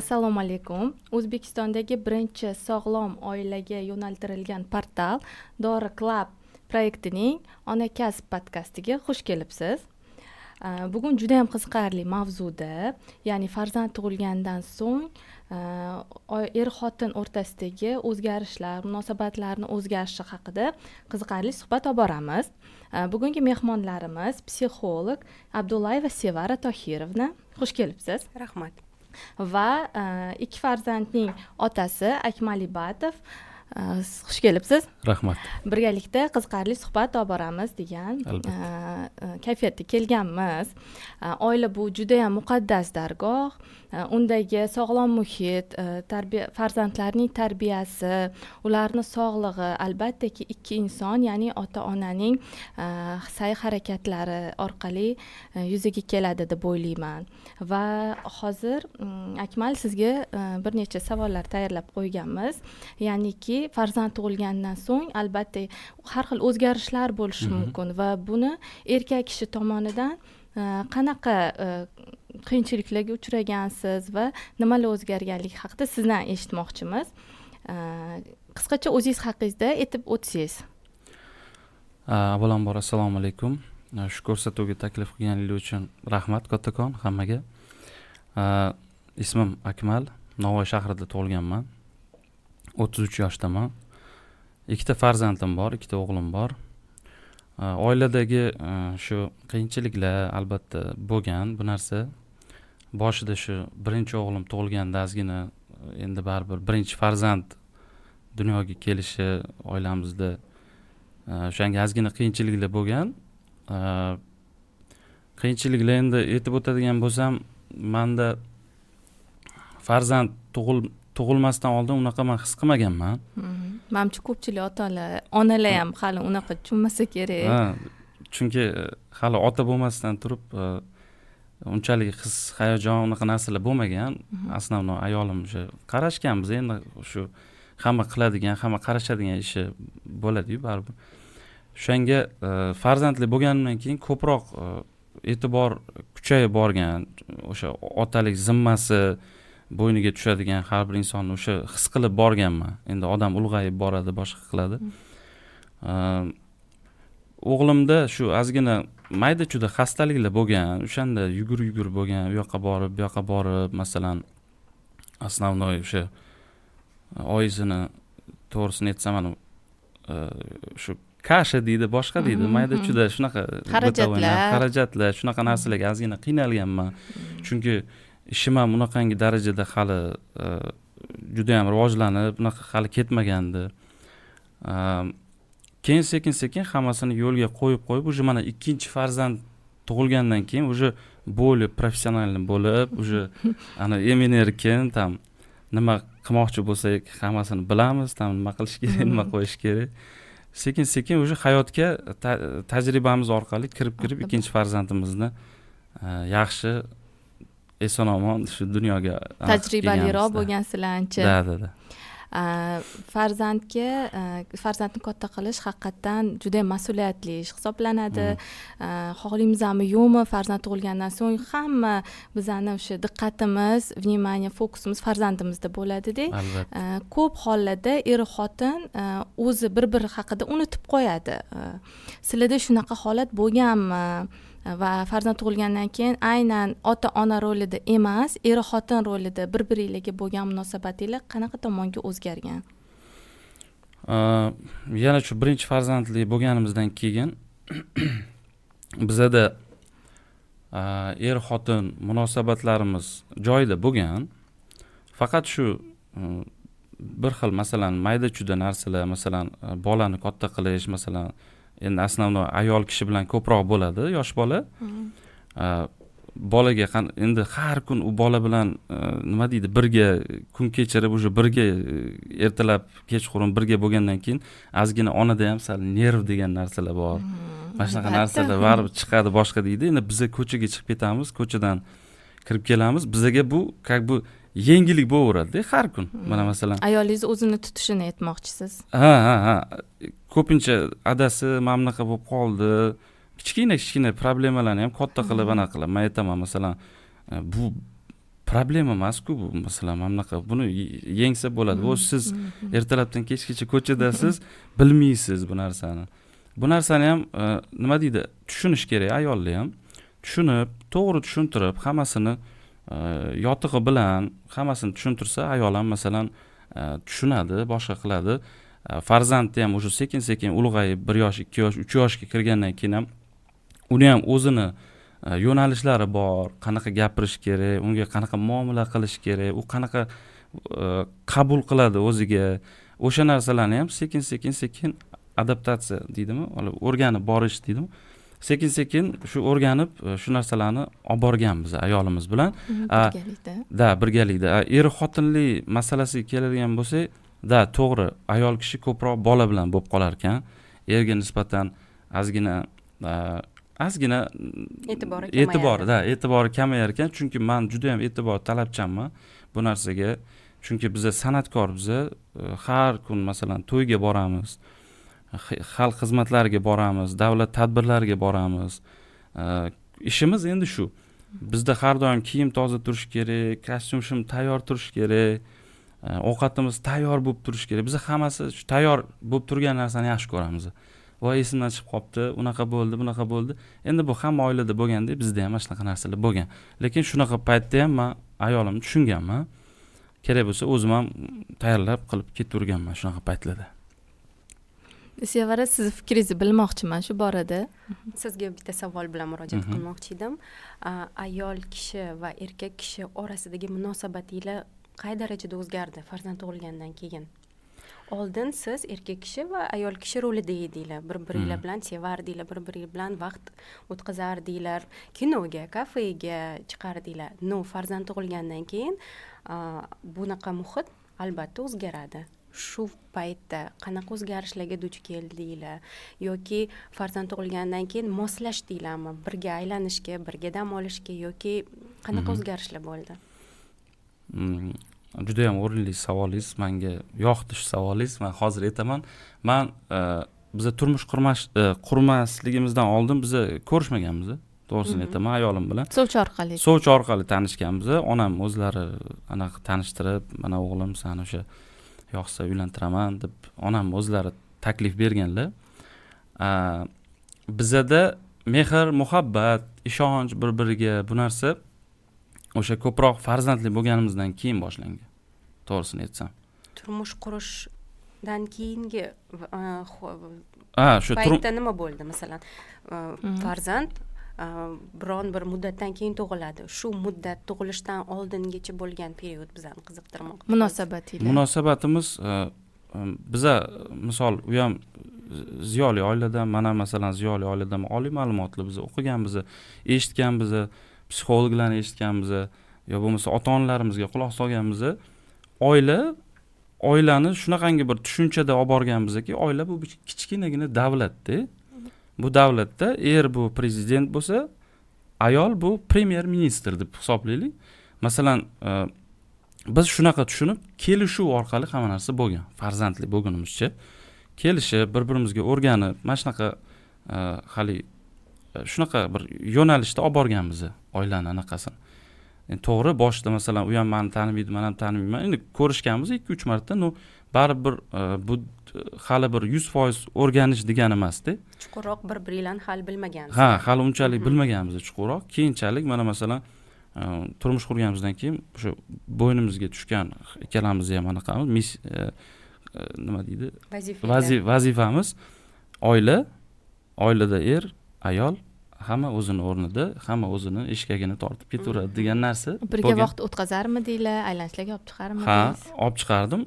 Assalomu alaykum. O'zbekistondagi birinchi sog'lom oilaga yo'naltirilgan portal Dori Club proyektining Ona kasb podkastiga xush kelibsiz. Bugun juda ham qiziqarli mavzuda, ya'ni farzand tug'ilgandan so'ng er-xotin o'rtasidagi o'zgarishlar, munosabatlarning o'zgarishi haqida qiziqarli suhbat olib boramiz. Bugungi mehmonlarimiz psixolog Abdullayeva Sevara Tohirovna. Xush kelibsiz. Rahmat. Va ikki farzandning otasi Akmal Ibatov. Xush kelibsiz. Rahmat. Birgalikda qiziqarli suhbat olib boramiz degan kayfiyatda kelganmiz. Oila bu juda ham muqaddas dargoh. Undagi sog'lom muhit, farzandlarning tarbiyasi, ularning sog'lig'i, albattaki ikki inson, ya'ni ota-onaning sa'y-harakatlari orqali yuzaga keladi deb o'ylayman. Va hozir Akmal sizga bir necha savollar tayyorlab qo'yganmiz. Ya'niki farzand tug'ilgandan so'ng albatta har xil o'zgarishlar bo'lishi mumkin va buni erkak kishi tomonidan qanaqa qiyinchiliklarga uchragansiz va nimalar o'zgarganligi haqida sizdan eshitmoqchimiz. Qisqacha o'zingiz haqingizda aytib o'tsangiz. Avvalambor assalomu alaykum. Shu ko'rsatuvga taklif qilganingiz uchun rahmat kattakon hammaga. Ismim Akmal, Navoiy shahrida tug'ilganman. 33 yoshdaman. Ikkita farzandim bor, ikkita o'g'lim bor. Oiladagi shu qiyinchiliklar albatta bo'lgan. Bu narsa boshida shu birinchi o'g'lim tug'ilganda ozgina endi baribir birinchi farzand dunyoga kelishi oilamizda o'shanga ozgina qiyinchiliklar bo'lgan. Qiyinchiliklar endi aytib o'tadigan bo'lsam, menda farzand tug'ilmasdan oldin unaqa men his qilmaganman. Menimcha ko'pchilik onalar ham hali unaqa tushunmasa kerak. Chunki hali ota bo'lmasdan turib unchalik his, hayajon unaqa narsalar bo'lmagan. Aslan ayolim o'sha qarashganmiz, endi shu hamma qiladigan, hamma qarashadigan ishi bo'ladi-yu baribir. O'shanga farzandli bo'lganimdan keyin ko'proq e'tibor kuchayib borgan. O'sha otalik zimmasi bo'yniga tushadigan har bir insonni o'sha his qilib borganman. Endi odam ulg'ayib boradi, boshqa qiladi. O'g'limda shu ozgina mayda-chuda xastaliklar bo'lgan. O'shanda yugur bo'lgan, u yoqqa borib, bu yoqqa borib, masalan, основной o'sha oyisini to'g'risini aytsam, shu kasha deydi, boshqa deydi, mayda-chuda shunaqa xarajatlar, shunaqa narsalarga ozgina qiynalganman. Chunki ishim ham unaqangi darajada hali juda ham rivojlanib, unaqa hali ketmagandi. Keyin sekin hammasini yo'lga qo'yib, уже mana ikkinchi farzand tug'ilgandan keyin уже bo'lib, professionalni bo'lib, уже ana emin-erkin tam nima qilmoqchi bo'lsak, hammasini bilamiz, tam nima qilish kerak, nima qo'yish kerak. Sekin уже hayotga tajribamiz orqali kirib ikkinchi farzandimizni yaxshi eson-omon shu dunyoga tajribaliroq bo'lgansizlar-chi. Da. Farzandni katta qilish haqiqatan juda mas'uliyatli ish hisoblanadi. Xohlaymizmi yo'qmi, farzand tug'ilgandan so'ng hamma bizani o'sha diqqatimiz, vнимание, fokusimiz farzandimizda bo'ladi-da. Ko'p hollarda er-xotin o'zi bir-biri haqida unutib qo'yadi. Sizlarda shunaqa holat bo'lganmi? Va farzand tug'ilgandan keyin aynan ota-ona rolida emas, er-xotin rolida bir-biringizga bo'lgan munosabatinglar qanaqa tomonga o'zgargan? Yana shu birinchi farzandli bo'lganimizdan keyin bizada er-xotin munosabatlarimiz joyida bo'lgan. Faqat shu bir xil, masalan, mayda-chuda narsalar, masalan, bolani katta qilish, masalan, endi основной ayol kishi bilan ko'proq bo'ladi, yosh bola. Bolaga endi har kun u bola bilan nima deydi, birga kun kechirib, уже birga ertalab, kechqurun birga bo'lgandan keyin ozgina onada ham sal nerv degan narsalar bor. Mana shunaqa narsalar baribir chiqadi boshqa deydi. Endi biz ko'chaga chiqib ketamiz, ko'chadan kirib kelamiz. Bizga bu как бы yengillik bo'laveradi har kun. Mana masalan, ayolingiz o'zini tutishini aytmoqchisiz. Ha. Ko'pincha adasi mana bunaqa bo'lib qoldi. Kichkina problemalarni ham katta qilib ana qilib. Men aytaman, masalan, bu problema emas-ku bu, masalan, mana bunaqa buni yengsa bo'ladi. Bu siz ertalabdan kechgacha ko'chadasiz, bilmaysiz bu narsani. Bu narsani ham nima deydi, tushunish kerak, ayollar ham tushunib, to'g'ri tushuntirib, hammasini yotig'i bilan hammasini tushuntirsa, ayol ham masalan tushunadi, boshqa qiladi. Farzandni ham o'sha sekin-sekin ulg'ayib 1 yosh, 2 yosh, 3 yoshga kirgandan keyin ham uni ham o'zini yo'nalishlari bor, qanaqa gapirish kerak, unga qanaqa muomala qilish kerak, u qanaqa qabul qiladi o'ziga. O'sha narsalarni ham sekin-sekin adaptatsiya deydimi, o'rganib borish deydimi. Sekin-sekin shu o'rganib, shu narsalarni olib borganmiz ayolimiz bilan. Birgalikda. Er-xotinlik masalasiga keladigan bo'lsak, to'g'ri, ayol kishi ko'proq bola bilan bo'lib qolar ekan. Erga nisbatan ozgina e'tibori kamayar ekan, chunki men juda ham e'tibor talabchanman bu narsaga. Chunki biz san'atkor, biz har kun masalan to'yga boramiz, xalq xizmatlariga boramiz, davlat tadbirlariga boramiz. Ishimiz endi shu. Bizda har doim kiyim toza turish kerak, kostyum tayyor turish kerak, ovqatimiz tayyor bo'lib turish kerak. Biz hammasi shu tayyor bo'lib turgan narsani yaxshi ko'ramiz. Voy, esimdan chiqib qopti, unaqa bo'ldi, bunaqa bo'ldi. Endi bu hamma oilada bo'lganda, bizda ham shunaqa narsalar bo'lgan. Lekin shunaqa paytda ham men ayolimni tushunganman. Kerak bo'lsa o'zim ham tayyorlab qilib ketaverganman shunaqa paytlarda. Sevara, siz fikringizni bilmoqchiman shu borada. Sizga bitta savol bilan murojaat qilmoqchi edim. Ayol kishi va erkak kishi orasidagi munosabatinglar qay darajada o'zgardi farzand tug'ilgandan keyin? Oldin siz erkak kishi va ayol kishi rolida edinglar, bir-biringlar bilan sevardinglar, bir-biringlar bilan vaqt o'tkazardinglar, kinoga, kafega chiqardinglar. Farzand tug'ilgandan keyin bunaqa muhit albatta o'zgaradi. Shu paytda qanaqa o'zgarishlarga duch keldinglar yoki farzand tug'ilgandan keyin moslashdinglarmi birga aylanishga, birga dam olishga yoki qanaqa o'zgarishlar bo'ldi? Juda ham o'rinli savolingiz, menga yoqdi shu savolingiz. Men hozir aytaman. Men biz turmush qurmasligimizdan oldin biz ko'rishmaganmiz. To'g'risini aytaman, ayolim bilan. Sovchi orqali tanishganmiz. Onam o'zlari anaqa tanishtirib, mana o'g'lim seni o'sha yoqsa uylantiraman deb onam o'zlari taklif berganlar. Bizda mehr, muhabbat, ishonch bir-biriga bu narsa o'sha ko'proq farzandli bo'lganimizdan keyin boshlangan. To'g'risini aytsam. Turmush qurishdan keyingi shu paytda nima bo'ldi? Masalan, farzand biron bir muddatdan keyin tug'iladi. Shu muddat tug'ilishdan oldingacha bo'lgan period bizani qiziqtirmoqda. Munosabatimiz biza misol u ham ziyoli oiladan, mana masalan ziyoli oiladan oliy ma'lumotli biz o'qiganmiz, eshitganmiz, psixologlarni eshitganmiz, yo bo'lmasa ota-onalarimizga quloq solganmiz. Oilani shunaqangi bir tushunchada olib borganmizki, oila bu kichkinagina davlatda. Bu davlatda bu prezident bo'lsa, ayol bu premyer ministr deb hisoblaylik. Masalan, biz shunaqa tushunib, kelishuv orqali hamma narsa bo'lgan. Farzandli bo'lganimizcha kelishib, bir-birimizga o'rganib, mana shunaqa hali shunaqa bir yo'nalishda olib borganmiz oilani anaqasini. To'g'ri, boshida masalan u ham meni tanimaydi, men ham tanimayman. Endi ko'rishganmiz 2-3 marta, baribir bu hali bir 100% o'rganish degani emasda. Chuqurroq bir-biringlarni hali bilmagansiz. Hali unchalik bilmaganmiz chuqurroq. Keyinchalik mana masalan turmush qurganimizdan keyin o'sha bo'ynimizga tushgan ikkalamiz ham anaqamiz, nima deydi? Vazifamiz oilada ayol hamma o'zini o'rnida, hamma o'zini eshkagini tortib ketaveradi degan narsa. Birga vaqt o'tkazarmidinglar, aylanishlarga olib chiqarmidingiz? Olib chiqardim.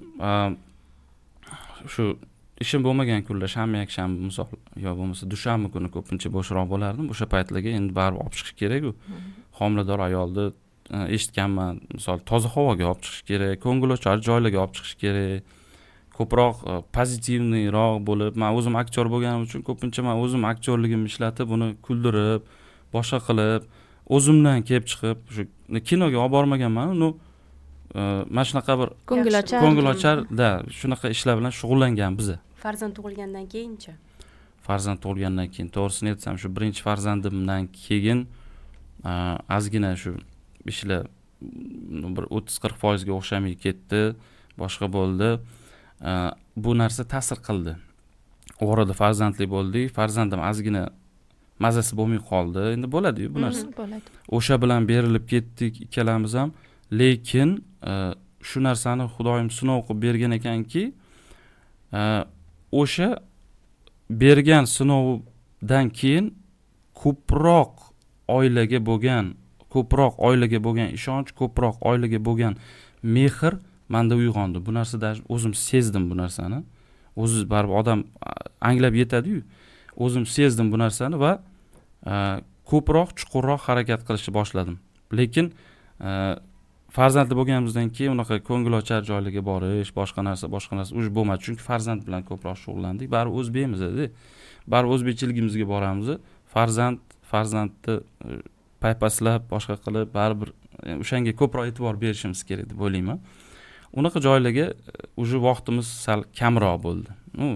Shu ishim bo'lmagan kunlar, shanba-yakshanba misol, yo bo'lmasa dushanba kuni ko'pincha bo'shroq bo'lardim. O'sha paytlarga endi baribir olib chiqish kerak-ku. Homilador ayolni eshitganman, misol toza havoga olib chiqish kerak, ko'ngilochar joylarga olib chiqish kerak. Ko'proq pozitivniroq bo'lib, men o'zim aktyor bo'lganim uchun ko'pincha men o'zim aktyorligimni ishlatib, uni kuldirib, boshqa qilib, o'zimdan kelib chiqib, shu kinoga olib bormaganman, mana shunaqa bir ko'ngilochar shunaqa ishlar bilan shug'ullangan biz. Farzand tug'ilgandan keyinchi? Farzand tug'ilgandan keyin, to'g'risini aytsam, shu birinchi farzandimdan keyin ozgina shu ishlar bir 30-40% o'xshamay ketdi, boshqa bo'ldi. Bu narsa ta'sir qildi. Orada farzandli bo'ldik, farzandim ozgina mazasi bo'lmay qoldi. Endi bo'ladi-yu bu narsa. Bo'ladi. O'sha bilan berilib ketdik ikkalamiz ham, lekin shu narsani Xudoyim sinov qilib bergan ekanki, o'sha bergan sinovdan keyin ko'proq oilaga bo'lgan ishonch, ko'proq oilaga bo'lgan mehr menda uyg'ondi. Bu narsada o'zim sezdim bu narsani. O'zi baribir odam anglab yetadi-yu. O'zim sezdim bu narsani va ko'proq chuqurroq harakat qilishni boshladim. Lekin farzandli bo'lganimizdan keyin unaqa ko'ngilochar joylarga borish, boshqa narsa uj bo'lmadi. Chunki farzand bilan ko'proq shug'ullandik. Baribir o'zbekmiz-da. Baribir o'zbekchiligimizga boramiz. Farzandni paypaslab, boshqa qilib, baribir o'shanga ko'proq e'tibor berishimiz kerak deb o'ylayman. Unaqa joylarga uj vaqtimiz sal kamroq bo'ldi.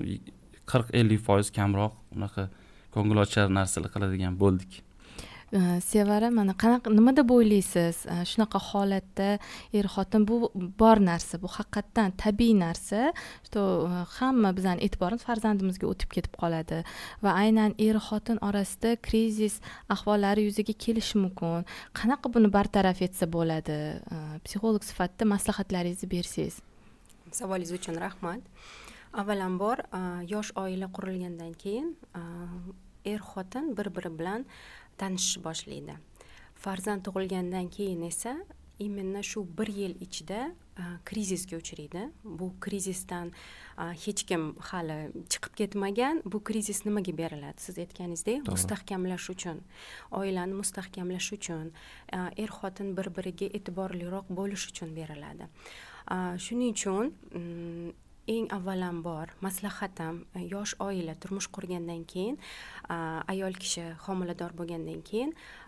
40-50% kamroq unaqa ko'ngilochar narsalar qiladigan bo'ldik. Sevara, mana nima deb o'ylaysiz? Shunaqa holatda xotin bu bor narsa, bu haqiqatdan tabiiy narsa. Hamma bizning e'tiborimiz farzandimizga o'tib ketib qoladi va aynan xotin orasida krizis ahvollari yuzaga kelishi mumkin. Qanaqa buni bartaraf etsa bo'ladi? Psixolog sifatida maslahatlaringizni bersangiz. Savolingiz uchun rahmat. Avvalambor, yosh oila qurilgandan keyin xotin bir-biri bilan tanishish boshlaydi. Farzand tug'ilgandan keyin esa именно shu 1 yil ichida krizisga uchraydi. Bu krizisdan hech kim hali chiqib ketmagan. Bu krizis nimaga beriladi? Siz aytganingizdek, mustahkamlash uchun, oilani mustahkamlash uchun, xotin bir-biriga e'tiborliroq bo'lish uchun beriladi. Shuning uchun eng avvalambor maslahatim, yosh oila turmush qurgandan keyin, ayol kishi homilador bo'lgandan keyin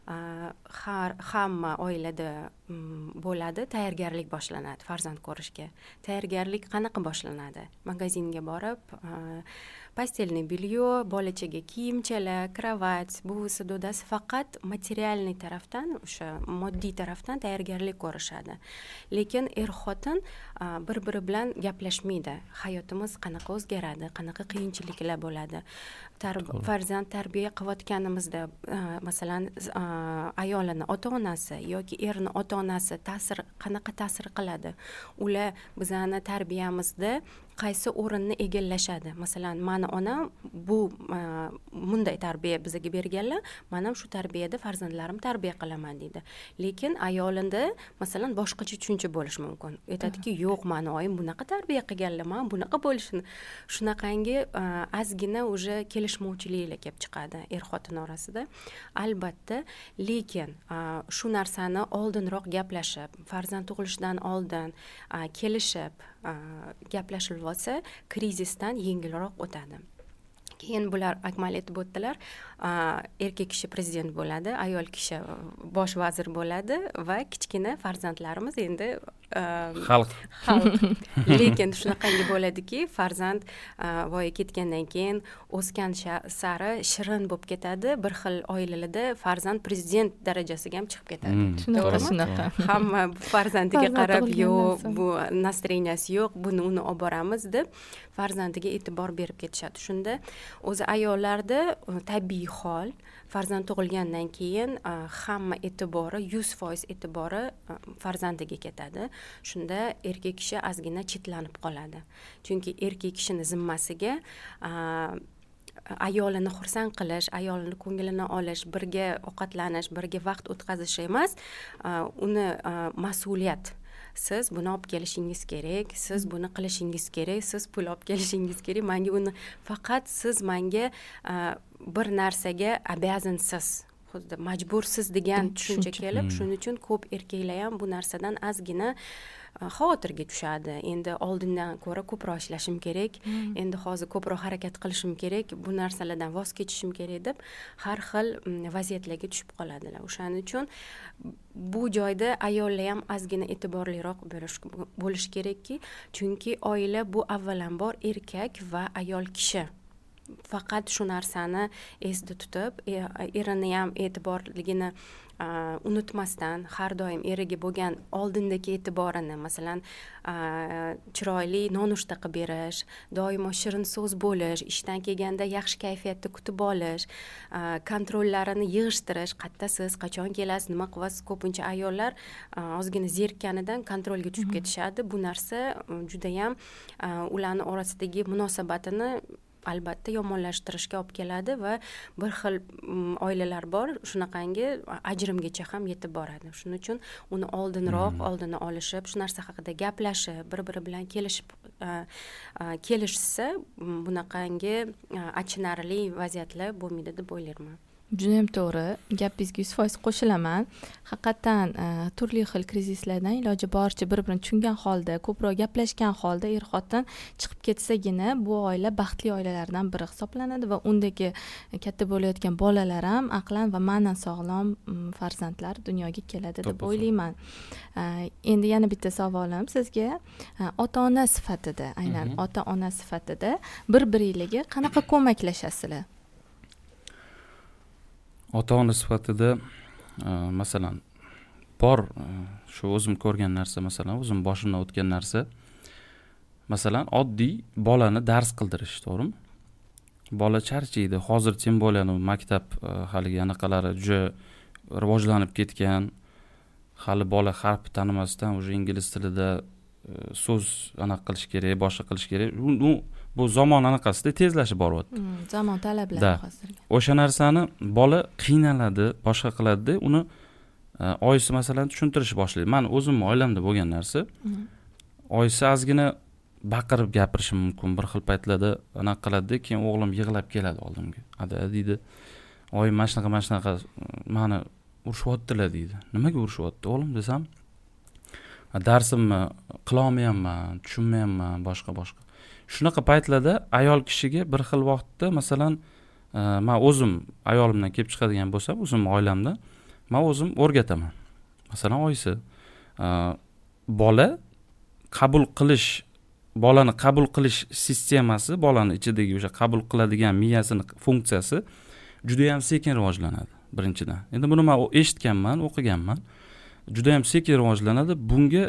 hamma oilada bo'ladi, tayyorgarlik boshlanadi farzand ko'rishga. Tayyorgarlik qanaqa boshlanadi? Magazinga borib, pastelniy belyo, bolachaga kiyimchalar, kravat, buvisi, dodasi faqat materialniy tarafdan, o'sha moddiy tarafdan tayyorgarlik ko'rishadi. Lekin xotin bir-biri bilan gaplashmaydi. Hayotimiz qanaqa o'zgaradi, qanaqa qiyinchiliklar bo'ladi. Farzand tarbiya qilayotganimizda, masalan, ayolini ota-onasi yoki erni ota-onasi qanaqa ta'sir qiladi? Ular bizani tarbiyamizda qaysi o'rinni egallashadi? Masalan, mani onam bu bunday tarbiya bizga berganlar, men ham shu tarbiyada farzandlarim tarbiya qilaman deydi. Lekin ayolinda masalan boshqacha tushuncha bo'lishi mumkin. Aytadiki, yo'q, meni oyim bunaqa tarbiya qilganlar, men bunaqa bo'lishini. Shunaqangi ozgina уже kelishmovchiliklar kelib chiqadi xotin orasida. Albatta, lekin shu narsani oldinroq gaplashib, farzand tug'ilishidan oldin kelishib gaplashib olsa, krizisdan yengilroq o'tadi. Keyin bular akmal aytib o'tdilar, erkak kishi prezident bo'ladi, ayol kishi bosh vazir bo'ladi va kichkina farzandlarimiz endi xalq. Lekin shunaqangi bo'ladiki, farzand voyaga ketgandan keyin o'sgan sari shirin bo'lib ketadi. Bir xil oilalarda farzand prezident darajasiga ham chiqib ketadi. Shunaqa. Hamma farzandiga qarab, yo'q, bu настроенияsi yo'q, buni uni olib boramiz deb farzandiga e'tibor berib ketishadi. Shunda o'zi ayollarda tabiiy hol, farzand tug'ilgandan keyin hamma e'tibori, 100% e'tibori farzandiga ketadi. Shunda erkak kishi ozgina chetlanib qoladi. Chunki erkak kishini zimmasiga ayolini xursand qilish, ayolini ko'nglini olish, birga ovqatlanish, birga vaqt o'tkazish emas, uni mas'uliyat. Siz buni olib kelishingiz kerak, siz buni qilishingiz kerak, siz pul olib kelishingiz kerak. Menga uni faqat siz menga bir narsaga обязанsiz, xuddi majbursiz degan tushuncha kelib, shuning uchun ko'p erkaklar ham bu narsadan ozgina xavotirga tushadi. Endi oldindan ko'ra ko'proq ishlashim kerak, endi hozir ko'proq harakat qilishim kerak, bu narsalardan voz kechishim kerak deb har xil vaziyatlarga tushib qoladilar. O'shaning uchun bu joyda ayollar ham ozgina e'tiborliroq bo'lish kerakki, chunki oila bu avvalambor erkak va ayol kishi. faqat shu narsani esda tutib, erini ham e'tiborligini unutmasdan, har doim eriga bo'lgan oldindagi e'tiborini, masalan, chiroyli nonushta qilib berish, doimo shirin so'z bo'lish, ishdan kelganda yaxshi kayfiyatda kutib olish, kontrollarini yig'ishtirish, qayerdasiz, qachon kelasiz, nima qilyapsiz. Ko'pincha ayollar ozgina zerikganidan kontrolga tushib ketishadi. Bu narsa judayam ularning orasidagi munosabatini albatta yomonlashtirishga olib keladi va bir xil oilalar bor, shunaqangi ajrimgacha ham yetib boradi. Shuning uchun uni oldini olishib, shu narsa haqida gaplashib, bir-biri bilan kelishsa, bunaqangi achinarli vaziyatlar bo'lmaydi deb o'ylayman. Judayam to'g'ri, gapingizga 100% qo'shilaman. Haqiqatan turli xil krizislardan iloji boricha bir-birini tushungan holda, ko'proq gaplashgan holda er-xotin chiqib ketsagina bu oila baxtli oilalardan biri hisoblanadi va undagi katta bo'layotgan bolalar ham aqlan va ma'nan sog'lom farzandlar dunyoga keladi deb o'ylayman. Endi yana bitta savolim sizga, ota-ona sifatida, aynan ota-ona sifatida bir-biringizga qanaqa ko'maklashasizlar? Ota-ona sifatida masalan bor shu o'zim ko'rgan narsa, masalan o'zim boshimdan o'tgan narsa, masalan oddiy bolani dars qildirish, to'g'rimi? Bola charchaydi. Hozir tем bolani maktab haligi anaqalari juda rivojlanib ketgan. Hali bola harf tanimasdan уже ingliz tilida so'z qilish kerak, boshqa qilish kerak. Bu zamon anaqasida tezlashib boryapti. Zamon talablari hozirgi. O'sha narsani bola qiynaladi, boshqa qiladi-da, uni oyisi masalan tushuntirish boshlaydi. Men o'zim oilamda bo'lgan narsa. Oyisi ozgina baqirib gapirishi mumkin, bir xil paytlarda anaqa qiladi, keyin o'g'lim yig'lab keladi oldimga. Ada deydi, oyim mana shunaqa meni urishyaptilar deydi. Nimaga urishyapti o'g'lim desam, darsimni qila olmayapman, tushunmayapman, boshqa. Shunaqa paytlarda ayol kishiga bir xil vaqtda, masalan, men o'zim ayolimdan kelib chiqadigan bo'lsam, o'zim oilamda men o'zim o'rgataman. Masalan, oyisi bolani qabul qilish sistemasi, bolani ichidagi o'sha qabul qiladigan miyasini funksiyasi juda ham sekin rivojlanadi, birinchidan. Endi buni men eshitganman, o'qiganman. Juda ham sekin rivojlanadi. Bunga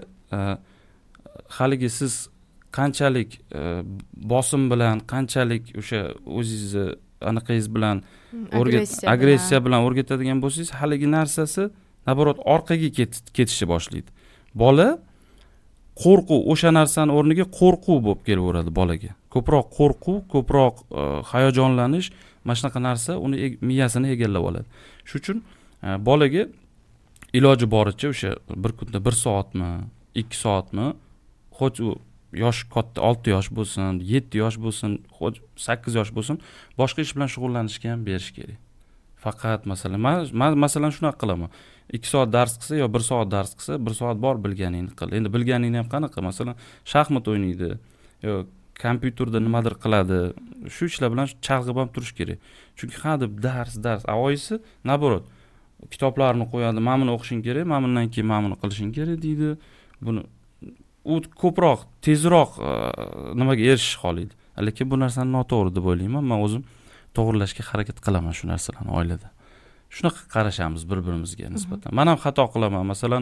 haligi siz qanchalik bosim bilan, qanchalik o'sha o'zingizni anaqangiz bilan agressiya bilan o'rgatadigan bo'lsangiz, haligi narsasi naborot orqaga ketishni boshlaydi. Bola qo'rquv, o'sha narsani o'rniga qo'rquv bo'lib kelaveradi bolaga. Ko'proq qo'rquv, ko'proq hayajonlanish, mana shunaqa narsa uni miyasini egallab oladi. Shuning uchun bolaga iloji boricha o'sha bir kunda 1 soatmi, 2 soatmi, xo'j u yosh katta 6 yosh bo'lsin, 7 yosh bo'lsin, 8 yosh bo'lsin, boshqa ish bilan shug'ullanishga ham berish kerak. Faqat masalan, men masalan shunaqa qilaman. 2 soat dars qilsa yo 1 soat dars qilsa, 1 soat bor bilganingni qil. Endi bilganingni ham qanaqa? Masalan, shaxmat o'ynaydi yo kompyuterda nimadir qiladi. Shu ishlar bilan chalg'ib ham turish kerak. Chunki hadeb dars, oyisi naborot kitoblarni qo'yadi, "Men buni o'qishing kerak, men bundan keyin men buni qilishing kerak" deydi. Buni u ko'proq, tezroq nimaga erishish xohlaydi. Lekin bu narsani noto'g'ri deb o'ylayman. Men o'zim to'g'rilashga harakat qilaman shu narsalarni oilada. Shunaqa qarashamiz bir-birimizga nisbatan. Men ham xato qilaman. Masalan,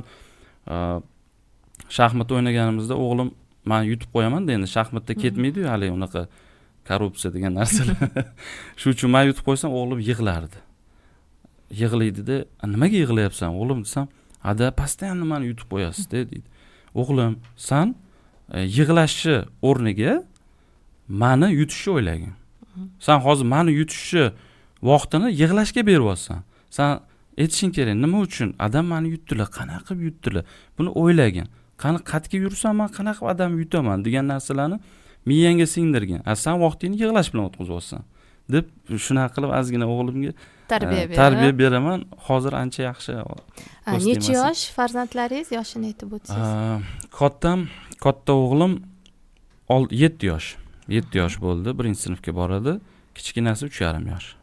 shaxmat o'ynaganimizda o'g'lim men yutib qo'yaman-da, endi shaxmatda ketmaydi-yu hali unaqa korrupsiya degan narsalar. Shuning uchun men yutib qo'ysam, o'g'lim yig'lardi. Yig'laydi-da, "Nimaga yig'layapsan o'g'lim?" desam, "Ada, постоянно meni yutib qo'yasiz-da" deydi. "O'g'lim, sen yig'lashni o'rniga meni yutishni o'ylagin. Sen hozir meni yutishni vaqtini yig'lashga beryapsan. Sen aytishing kerak, nima uchun adam meni yutdilar, qanaqa qilib yutdilar? Buni o'ylagin. Qani qatga yursam men qanaqa odam yutaman degan narsalarni miyangga singdirgin. Sen vaqtingni yig'lash bilan o'tkazayapsan" deb shunaqa qilib ozgina o'g'limga tarbiya beraman. Hozir ancha yaxshi. Necha yosh farzandlaringiz, yoshini aytib o'tsangiz? Katta o'g'lim 7 yosh. 7 yosh bo'ldi, 1-sinfga boradi. Kichkinasi 3,5 yosh.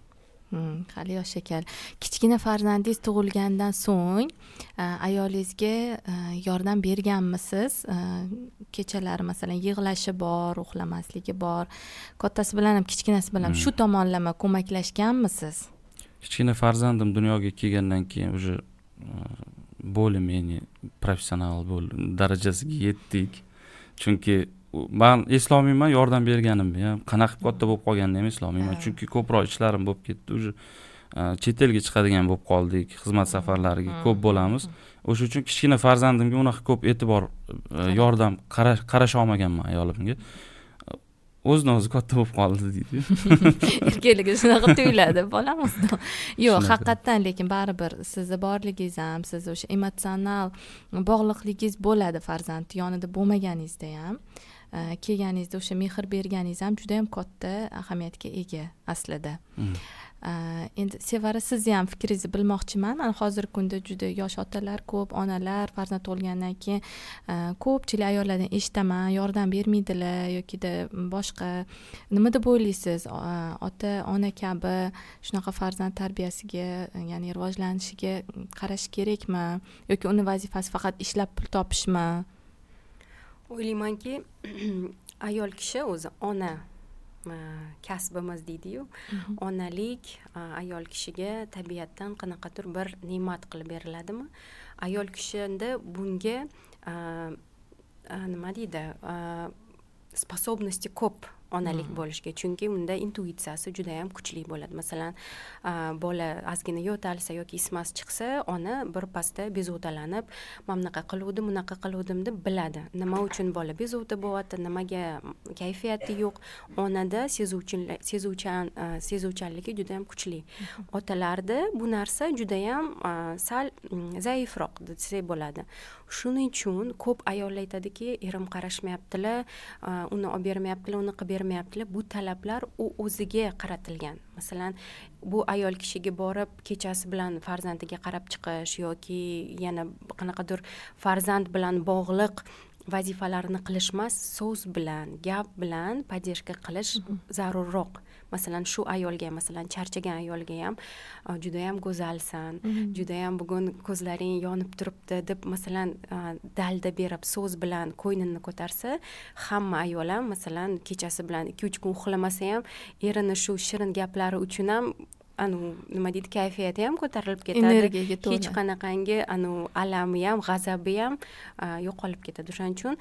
Hali yosh ekan. Kichkina farzandingiz tug'ilgandan so'ng ayolingizga yordam berganmisiz? Kechalari masalan yig'lashi bor, uxlamasligi bor. Kattasi bilan ham kichkinasi bilan shu tomonlama ko'maklashganmisiz? Kichkina farzandim dunyoga kelgandan keyin уже более-менее professional darajasiga yetdik. Chunki men eslolmayman yordam berganimni ham, qanaqa katta bo'lib qolganini ham eslolmayman. Chunki ko'proq ishlarim bo'lib ketdi. Уже chet elga chiqadigan bo'lib qoldik, xizmat safarlariga ko'p bo'lamiz. O'sha uchun kichkina farzandimga unaqa ko'p e'tibor, yordam qarasha olmaganman ayolimga. O'zidan o'zi katta bo'lib qoldi deydi. Erkaligi shunaqa tuyuladi bolamizda. Yo'q, haqiqatan lekin baribir sizni borligingiz ham, siz o'sha emotsional bog'liqligingiz bo'ladi farzand yonida bo'lmaganingizda ham. Kelganingizda o'sha mehr berganingiz ham juda ham katta ahamiyatga ega aslida. Endi Sevara, sizni ham fikringizni bilmoqchiman. Hozirgi kunda juda yosh otalar ko'p, onalar farzand tug'ilgandan keyin ko'pchilik ayollardan eshitaman, yordam bermaydilar yokida boshqa. Nima deb o'ylaysiz? Ota-ona kabi shunaqa farzand tarbiyasiga, ya'ni rivojlanishiga qarash kerakmi yoki uni vazifasi faqat ishlab pul topishmi? O'ylaymanki, ayol kishi o'zi ona kasbimiz deydi-yu. Onalik ayol kishiga tabiatdan qanaqadir bir ne'mat qilib beriladimi? Ayol kishida bunga nima deydi? Sposobnosti ko'p onalik bo'lishga, chunki unda intuitsiyasi juda ham kuchli bo'ladi. Masalan, bola ozgina yo'talsa yoki ismasi chiqsa, ona bir pasda bezovtalanib, "Men bunaqa qiluvdim, bunaqa qiluvdim" deb biladi. Nima uchun bola bezovta bo'lyapti, nimaga kayfiyati yo'q. Onada sezuvchanligi juda ham kuchli. Otalarda bu narsa juda ham sal zaifroq desak bo'ladi. Shuning uchun ko'p ayollar aytadiki, erim qarashmayaptilar, uni olib bermayaptilar, uni qilib bermayaptilar. Bu talablar u o'ziga qaratilgan. Masalan, bu ayol kishiga borib kechasi bilan farzandiga qarab chiqish yoki yana qanaqadir farzand bilan bog'liq vazifalarni qilish emas, so'z bilan, gap bilan podдержка qilish zarurroq. Masalan, shu ayolga, masalan, charchagan ayolga ham juda ham go'zalsan, juda ham bugun ko'zlaring yonib turibdi deb masalan dalda berib so'z bilan qo'ynini ko'tarsa, hamma ayol ham masalan kechasi bilan 2-3 kun uxlamasa ham erini shu shirin gaplari uchun ham nima deydi, kayfiyati ham ko'tarilib ketadi. Energiyaga to'la. Hech qanaqangi alami ham, g'azabi ham yo'qolib ketadi. Shuning uchun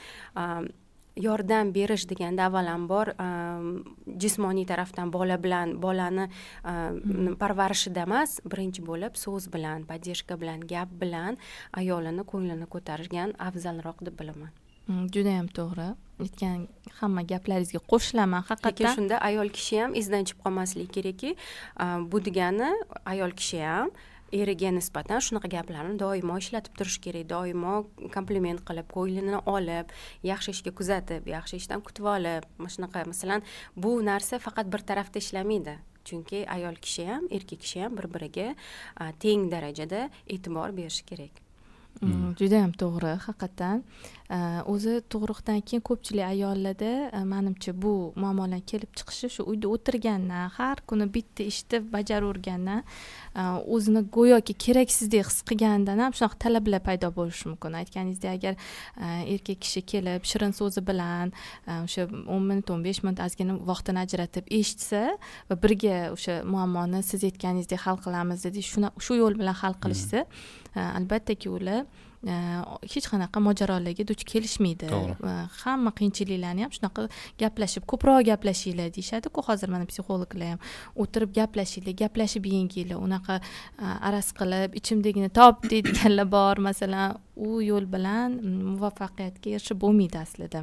yordam berish deganda avvalambor jismoniy tarafdan bolani parvarishida emas, birinchi bo'lib so'z bilan, podдержка bilan, gap bilan ayolini ko'nglini ko'targan afzalroq deb bilaman. Juda ham to'g'ri. Aytgan hamma gaplaringizga qo'shilaman haqiqatan. Lekin shunda ayol kishi ham izdan chiqib qolmasligi kerakki, bu degani ayol kishi ham eriga nisbatan shunaqa gaplarni doimo ishlatib turish kerak, doimo kompliment qilib, ko'nglini olib, yaxshi ishga kuzatib, yaxshi ishdan kutib olib, shunaqa masalan, bu narsa faqat bir tarafda ishlamaydi. Chunki ayol kishi ham, erkak kishi ham bir-biriga teng darajada e'tibor berishi kerak. Juda ham to'g'ri, haqiqatan. O'zi tug'ruqdan keyin ko'pchilik ayollarda menimcha bu muammolar kelib chiqishi shu uyda o'tirgandan, har kuni bitta ishni bajaravergandan, o'zini go'yoki keraksizdek his qilgandan ham shunaqa talablar paydo bo'lishi mumkin. Aytganingizdek, agar erkak kishi kelib shirin so'zi bilan o'sha 10 minut, 15 minut ozgina vaqtini ajratib eshitsa va birga o'sha muammoni siz aytganingizdek hal qilamiz dedi, shu yo'l bilan hal qilishsa, albattaki ular hech qanaqa mojarolarga duch kelishmaydi. Hamma qiyinchiliklarni ham shunaqa gaplashib, ko'proq gaplashinglar deyishadi-ku hozir mana psixologlar ham. O'tirib gaplashinglar, gaplashib yenginglar, unaqa araz qilib ichimdagini top deydiganlar bor. Masalan, u yo'l bilan muvaffaqiyatga erishib bo'lmaydi aslida.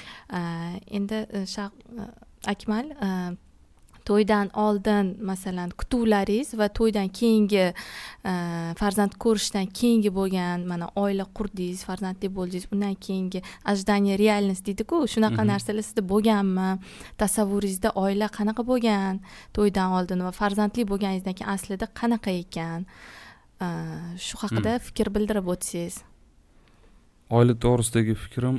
Endi Akmal, to'ydan oldin masalan kutuvlaringiz va to'ydan keyingi farzand ko'rishdan keyingi bo'lgan mana oila qurdingiz, farzandli bo'ldingiz, undan keyingi ожидание реальность deydi-ku, shunaqa narsalar sizda bo'lganmi? Tasavvuringizda oila qanaqa bo'lgan to'ydan oldin va farzandli bo'lganingizdan keyin aslida qanaqa ekan? Shu haqida fikr bildirib o'tsangiz. Oila to'g'risidagi fikrim,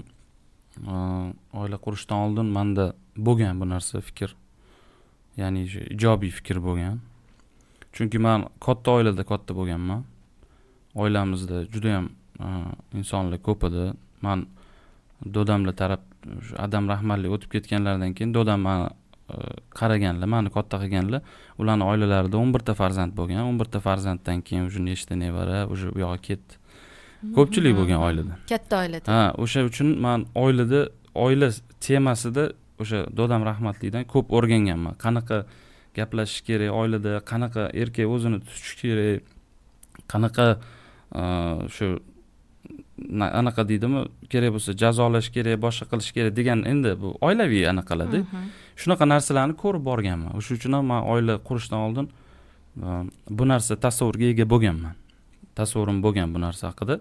oila qurishdan oldin menda bo'lgan bu narsa fikr. Ya'ni ijobiy fikr bo'lgan. chunki man katta oilada katta bo'lganman. Oilamizda juda ham insonlar ko'p edi. Man dodamlar taraf Adam rahmatli o'tib ketganlaridan keyin dodam meni qaraganlar, meni katta qilganlar. Ularning oilalarida 11 ta farzand bo'lgan. 11 ta farzanddan keyin уже nechta nevara, уже u yoqqa ketdi. Ko'pchilik bo'lgan oilada. Katta oilada. Ha, o'sha uchun men oila temasida o'sha dodam rahmatlidan ko'p o'rganganman. Qanaqa gaplashish kerak oilada, qanaqa erkak o'zini tutish kerak, qanaqa shu anaqa deydimi, kerak bo'lsa jazolash kerak, boshqa qilish kerak degan endi bu oilaviy anaqalarda. Shunaqa narsalarni ko'rib borganman. O'sha uchun ham men oila qurishdan oldin bu narsa tasavvurga ega bo'lganman. Tasavvurim bo'lgan bu narsa haqida.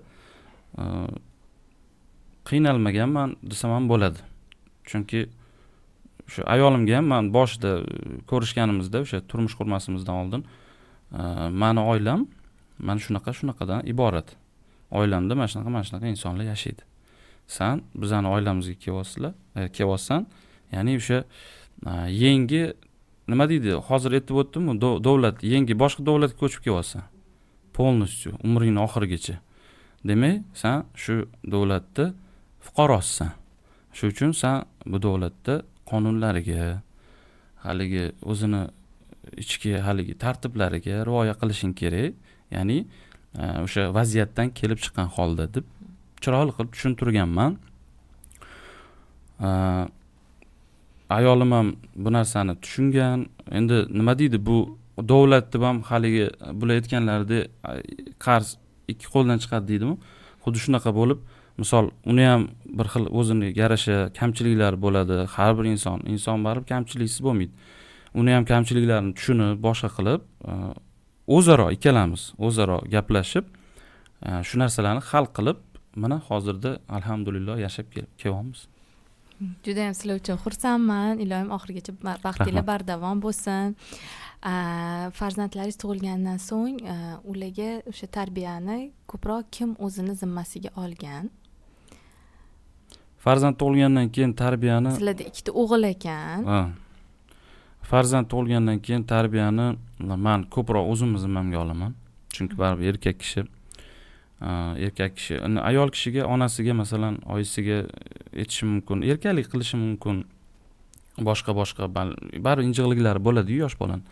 Qiynalmaganman desam ham bo'ladi. Chunki shu ayolimga ham men boshida ko'rishganimizda o'sha turmush qurmasimizdan oldin meni oilam mana shunaqadan iborat. Oilamda mana shunaqa insonlar yashaydi. Sen bizani oilamizga kelyapsan, ya'ni o'sha yangi nima deydi? Hozir aytib o'tdim-ku, davlat yangi boshqa davlatga ko'chib kelyapsan. Polностью umringning oxirigacha. Demak, sen shu davlatda fuqarosisan. Shu uchun sen bu davlatda qonunlariga, haligi o'zini ichki haligi tartiblariga rioya qilishing kerak. Ya'ni o'sha vaziyatdan kelib chiqqan holda deb chiroyli qilib tushuntirganman. Ayolim ham bu narsani tushungan. Endi nima deydi, bu davlat deb ham haligi bular aytganlaridek qarz ikki qo'ldan chiqadi deydimi? Xuddi shunaqa bo'lib, misol uni ham bir xil o'zini yarasha kamchiliklari bo'ladi. Har bir inson baribir kamchiliksiz bo'lmaydi. Uni ham kamchiliklarini tushunib, boshqa qilib ikkalamiz o'zaro gaplashib shu narsalarni hal qilib, mana hozirda alhamdulillah yashab kelyapmiz. Juda ham sizlar uchun xursandman. Ilohim oxirigacha baxtinglar bardavom bo'lsin. Farzandlaringiz tug'ilgandan so'ng ularga o'sha tarbiyani ko'proq kim o'zini zimmasiga olgan? Farzand tug'ilgandan keyin tarbiyani sizlarda ikkita o'g'il ekan. Farzand tug'ilgandan keyin tarbiyani men ko'proq o'zim zimmamga olaman. Chunki baribir erkak kishi ayol kishiga, onasiga, masalan, oyisiga aytishi mumkin, erkalik qilishi mumkin. Boshqa baribir injiqliklari bo'ladi-yu yosh bolani.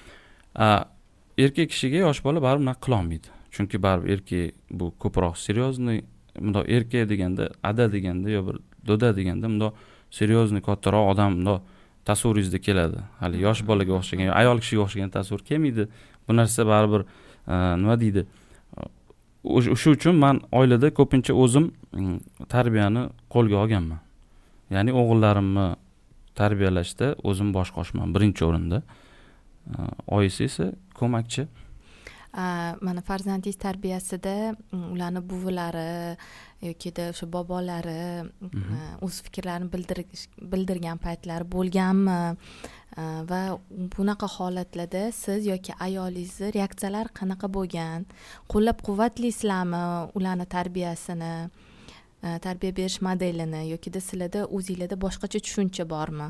Erkak kishiga yosh bola baribir nima qila olmaydi. Chunki baribir erkak bu ko'proq seryozni, bundoq erkak deganda, ada deganda yo bir doda deganda bundoq seryozni kattaroq odam bundoq tasavvuringizda keladi. Hali yosh bolaga o'xshagan, ayol kishiga o'xshagan tasavvur kelmaydi. Bu narsa baribir nima deydi? O'sha uchun men oilada ko'pincha o'zim tarbiyani qo'lga olganman. Ya'ni o'g'illarimni tarbiyalashda o'zim bosh qo'shman birinchi o'rinda. Oyisi esa ko'makchi. Mana farzandingiz tarbiyasida ularning buvilari yoki o'sha bobolari o'z fikrlarini bildirgan paytlari bo'lganmi? Va bunaqa holatlarda siz yoki ayolingizni reaksiyalar qanaqa bo'lgan? Qo'llab-quvvatlaysizlarmi ularning tarbiyasini, tarbiya berish modelini yoki sizlarda o'zingizlarda boshqacha tushuncha bormi?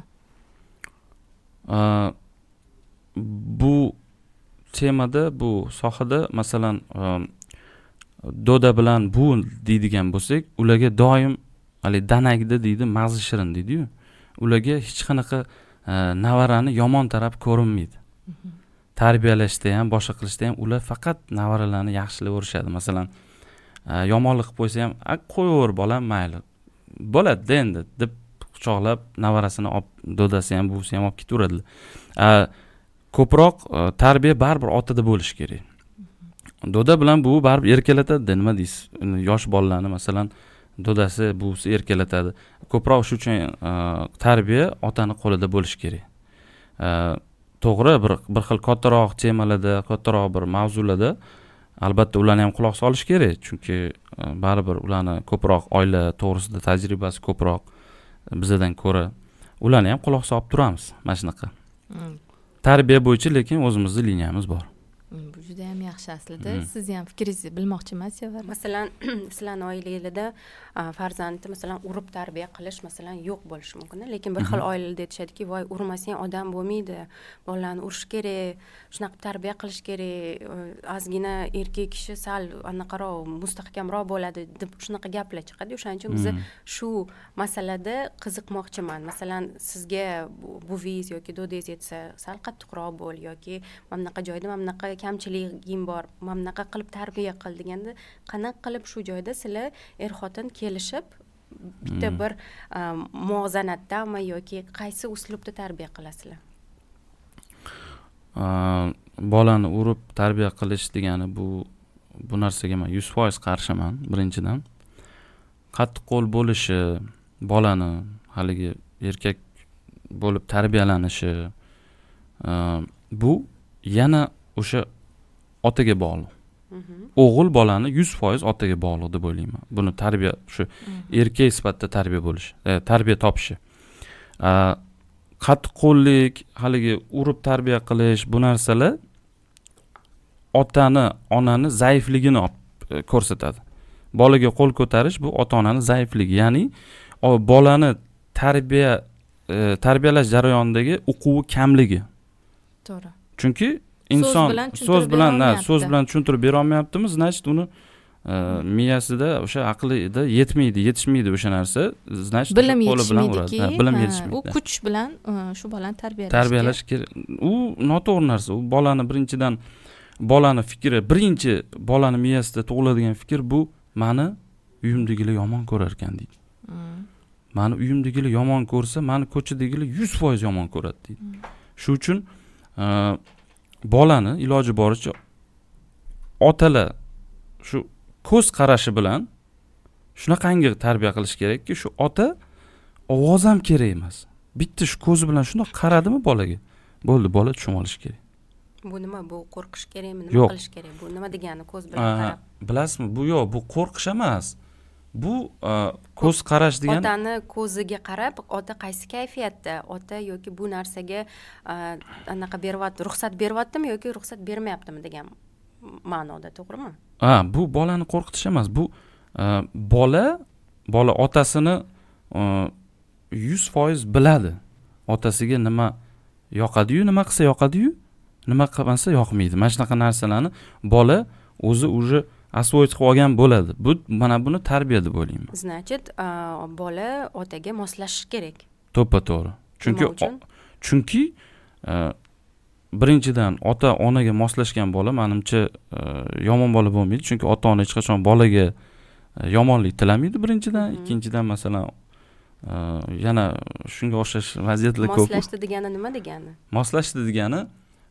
Bu temada, bu sohada masalan doda bilan bu deydigan bo'lsak, ularga doim hali danagida deydi, mag'zi shirin deydi-yu. Ularga hech qanaqa navarani yomon taraf ko'rinmaydi. Tarbiyalashda ham, boshqa qilishda ham ular faqat navaralarni yaxshilab o'rishadi. Masalan, yomonlik qilib qo'ysa ham, qo'yaver bolam, mayli. Bo'ladi endi deb quchoqlab navarasini olib, dodasi ham, buvisi ham olib ketaveradilar. Ko'proq tarbiya baribir otada bo'lish kerak. Doda bilan buvi baribir erkalatadi, nima deysiz? Yosh bolalarni masalan dodasi, buvisi erkalatadi. Ko'proq shu uchun tarbiya otaning qo'lida bo'lish kerak. To'g'ri, bir xil kattaroq temalarda, kattaroq bir mavzularda albatta ularni ham quloq solish kerak, chunki baribir ularni ko'proq oila to'g'risida tajribasi ko'proq bizdan ko'ra. Ularni ham quloq solib turamiz, mana shunaqa. Tarbiya bo'yicha lekin o'zimizning liniyamiz bor. juda ham yaxshi aslida. Sizni ham fikringizni bilmoqchiman, Sevara. Masalan, sizlarning oilangizda farzandni masalan urib tarbiya qilish masalan yo'q bo'lishi mumkin, lekin bir xil oilalarda aytishadiki, voy urmasang odam bo'lmaydi, bolalarni urish kerak, shunaqa tarbiya qilish kerak, ozgina erkak kishi sal anaqaroq mustahkamroq bo'ladi deb shunaqa gaplar chiqadi. O'shaning uchun biz shu masalada qiziqmoqchiman. Masalan, sizga buvingiz yoki dodangiz aytsa, sal qattiqroq bo'l yoki mana bunaqa joyda mana bunaqa kamchiligim bor, mana bunaqa qilib tarbiya qil deganda, qanaqa qilib shu joyda sizlar er-xotin kelishib bitta bir muvozanatdami yoki qaysi uslubda tarbiya qilasizlar? Bolani urib tarbiya qilish degani bu narsaga men 100% qarshiman. Birinchidan qattiqqo'l bo'lishi, bolani haligi erkak bo'lib tarbiyalanishi bu yana o'sha otaga bog'liq. O'g'il bolani 100% otaga bog'liq deb o'ylayman. Buni tarbiya shu erkak sifatida tarbiya bo'lishi, tarbiya topishi. Qattiqqo'llik, haligi urib tarbiya qilish bu narsalar otani, onani zaifligini ko'rsatadi. Bolaga qo'l ko'tarish bu ota-onaning zaifligi, ya'ni bolani tarbiyalash jarayonidagi uquvi kamligi. To'g'ri. Chunki inson so'z bilan tushuntirib bera olmayaptimi, значит uni miyasida o'sha aqlida yetishmaydi o'sha narsa, значит bilim qo'li bilan uradi. Bilim yetishmaydi. U kuch bilan shu bolani tarbiyalash kerak. U noto'g'ri narsa. U bolani birinchidan bolani fikri, birinchi bolani miyasida tug'iladigan fikr bu meni uyimdagilar yomon ko'rar ekan deydi. Meni uyimdagilar yomon ko'rsa, meni ko'chadagilar 100% yomon ko'radi deydi. Shu uchun bolani iloji boricha otalar shu ko'z qarashi bilan shunaqangi tarbiya qilish kerakki, shu ota ovoz ham kerak emas. Bitta shu ko'zi bilan shundoq qaradimi bolaga, bo'ldi, bola tushunib olishi kerak. Bu nima? Bu qo'rqish kerakmi? Nima qilish kerak? Bu nima degani ko'z bilan qarab? Bilasizmi? Bu yo'q, bu qo'rqish emas. Bu ko'z qarash degani otani ko'ziga qarab, ota qaysi kayfiyatda, ota yoki bu narsaga anaqa beryapti, ruxsat beryaptimi yoki ruxsat bermayaptimi degan ma'noda, to'g'rimi? Bu bolani qo'rqitish emas. Bu bola otasini 100% biladi. Otasiga nima yoqadi-yu, nima qilsa yoqadi-yu, nima qilmasa yoqmaydi. Mana shunaqa narsalarni bola o'zi asvoyit qilib olgan bo'ladi. Bu mana buni tarbiya deb o'ylayman. Значит, bola otaga moslashishi kerak. To'ppa-to'g'ri. Chunki birinchidan ota onaga moslashgan bola menimcha yomon bola bo'lmaydi. Chunki ota-ona hech qachon bolaga yomonlik tilamaydi birinchidan, ikkinchidan masalan yana shunga o'xshash vaziyatlar ko'p. Moslashdi degani nima degani? Moslashdi degani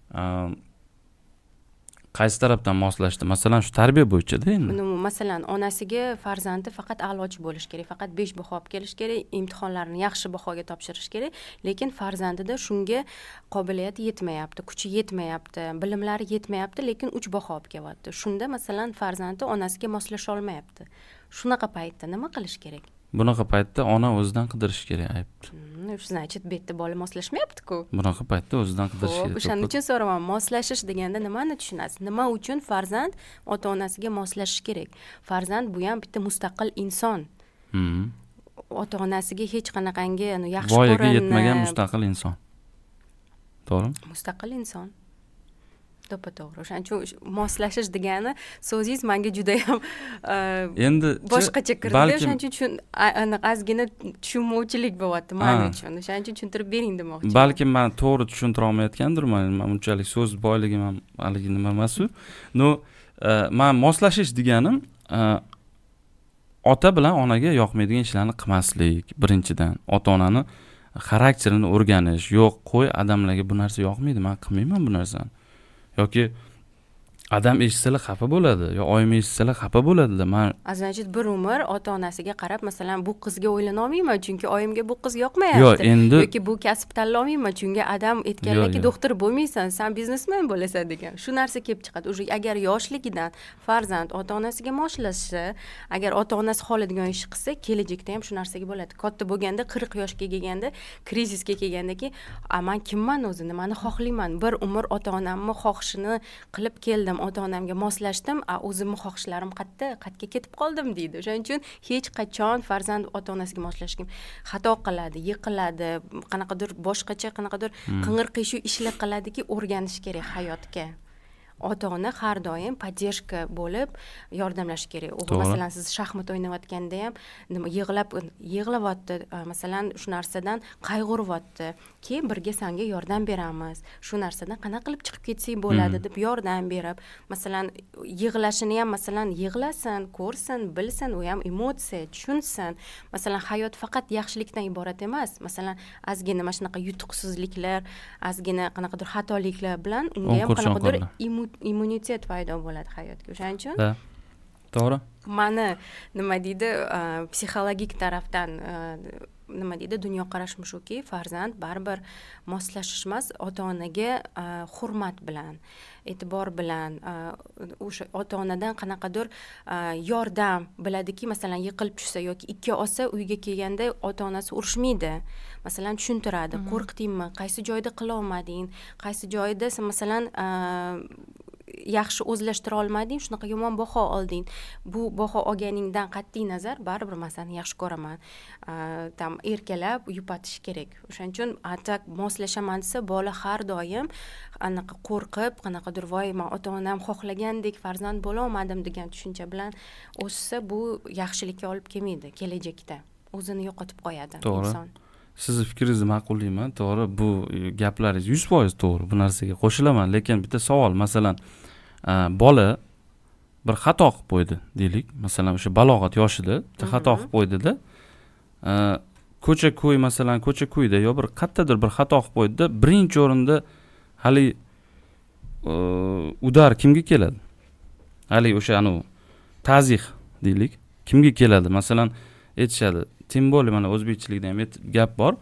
qaysi tarafdan moslashdi? Masalan, shu tarbiya bo'yicha-da endi. Masalan, onasiga farzandi faqat a'lochi bo'lish kerak, faqat 5 baho olib kelish kerak, imtihonlarni yaxshi bahoga topshirish kerak, lekin farzandida shunga qobiliyati yetmayapti, kuchi yetmayapti, bilimlari yetmayapti, lekin 3 baho olib kelyapti. Shunda masalan farzandi onasiga moslasha olmayapti. Shunaqa paytda nima qilish kerak? Bunaqa paytda ona o'zidan qidirish kerak aybni. Значит, bu yerda bola moslashmayapti-ku. Bunaqa paytda o'zidan qidirish kerak. O'shaning uchun so'raman, moslashish deganda nimani tushunasiz? Nima uchun farzand ota-onasiga moslashishi kerak? Farzand bu ham bitta mustaqil inson. Ota-onasiga hech qanaqangi yaxshi ko'rinma. Voyaga yetmagan mustaqil inson. To'g'rimi? Mustaqil inson. To'ppa-to'g'ri. O'shaning uchun moslashish degani so'zingiz menga juda ham endi boshqacha kirdi. O'shaning uchun ozgina tushunmovchilik bo'lyapti men uchun. O'shaning uchun tushuntirib bering demoqchiman. Balki men to'g'ri tushuntira olmayotgandirman. Men unchalik so'z boyligim ham haligi nima emas-ku. Men moslashish deganim ota bilan onaga yoqmaydigan ishlarni qilmaslik, birinchidan. Ota-onani xarakterini o'rganish. Yo'q, qo'y, odamlarga bu narsa yoqmaydi, men qilmayman bu narsani. Yoki adam eshitsalar xafa bo'ladi, yo oyim eshitsalar xafa bo'ladi-da. Значит, bir umr ota-onasiga qarab, masalan, bu qizga o'ylana olmayman, chunki oyimga bu qiz yoqmayapti. Yoki bu kasb tanlay olmayman, chunki adam aytganlarki, doktor bo'lmaysan, sen biznesmen bo'lasan degan. Shu narsa kelib chiqadi. O'sha agar yoshligidan farzand ota-onasiga moslashsa, agar ota-onasi xohlagan ish qilsa, kelajakda ham shu narsaga bo'ladi. Katta bo'lganda, 40 yoshga kelganda, krizisga kelgandaki, men kimman o'zi, nimani xohlayman? Bir umr ota-onamni xohishini qilib keldim. ota onamga moslashdim, o'zimni xohishlarim qayerga ketib qoldim deydi. O'shaning uchun hech qachon farzand ota onasiga moslashga xato qiladi, yiqiladi, qanaqadir boshqacha qanaqadir qing'ir-qiyshuv ishlar qiladiki, o'rganish kerak hayotga. Ota-ona har doim поддержка bo'lib yordamlash kerak. O'g'il masalan siz shaxmat o'ynayotganda ham nima yig'layapti, masalan shu narsadan qayg'uryapti. Keyin birga senga yordam beramiz. Shu narsadan qanaqa qilib chiqib ketsang bo'ladi deb yordam berib, masalan yig'lashini ham masalan yig'lasin, ko'rsin, bilsin, u ham emotsiya, tushunsin. Masalan hayot faqat yaxshilikdan iborat emas. Masalan ozgina mana shunaqa yutuqsizliklar, ozgina qanaqadir xatoliklar bilan unga ham qanaqadir immunitet paydo bo'ladi hayotga. O'shaning uchun to'g'ri. Mani nima deydi, psixologik tarafdan nima deydi, dunyoqarashim shuki, farzand baribir moslashish emas, ota-onaga hurmat bilan, e'tibor bilan, o'sha ota-onadan qanaqadir yordam biladiki, masalan yiqilib tushsa yoki ikki olsa uyga kelganda ota-onasi urishmaydi. Masalan tushuntiradi, qo'rqdingmi, qaysi joyda qila olmading, qaysi joyda masalan yaxshi o'zlashtira olmading, shunaqa yomon baho olding. Bu baho olganingdan qat'iy nazar baribir men seni yaxshi ko'raman. Tam erkalab yupatish kerak. O'shaning uchun atak moslashaman desa, bola har doim anaqa qo'rqib, qanaqadir voy men ota-onam xohlagandek farzand bo'la olmadim degan tushuncha bilan o'ssa, bu yaxshilikka olib kelmaydi kelajakda. O'zini yo'qotib qo'yadi inson. Sizni fikringizni ma'qullayman, to'g'ri, bu gaplaringiz 100% to'g'ri, bu narsaga qo'shilaman, lekin bitta savol, masalan, bola bir xato qilib qo'ydi, deylik, masalan, o'sha balog'at yoshida bitta xato qilib qo'ydi-da, ko'cha-ko'y, masalan, ko'cha-ko'yda yo bir qayerdadir bir xato qilib qo'ydi-da, birinchi o'rinda hali udar kimga keladi? Hali o'sha ta'zih deylik, kimga keladi? Masalan, aytishadi, tем более mana o'zbekchilikda ham gap bor.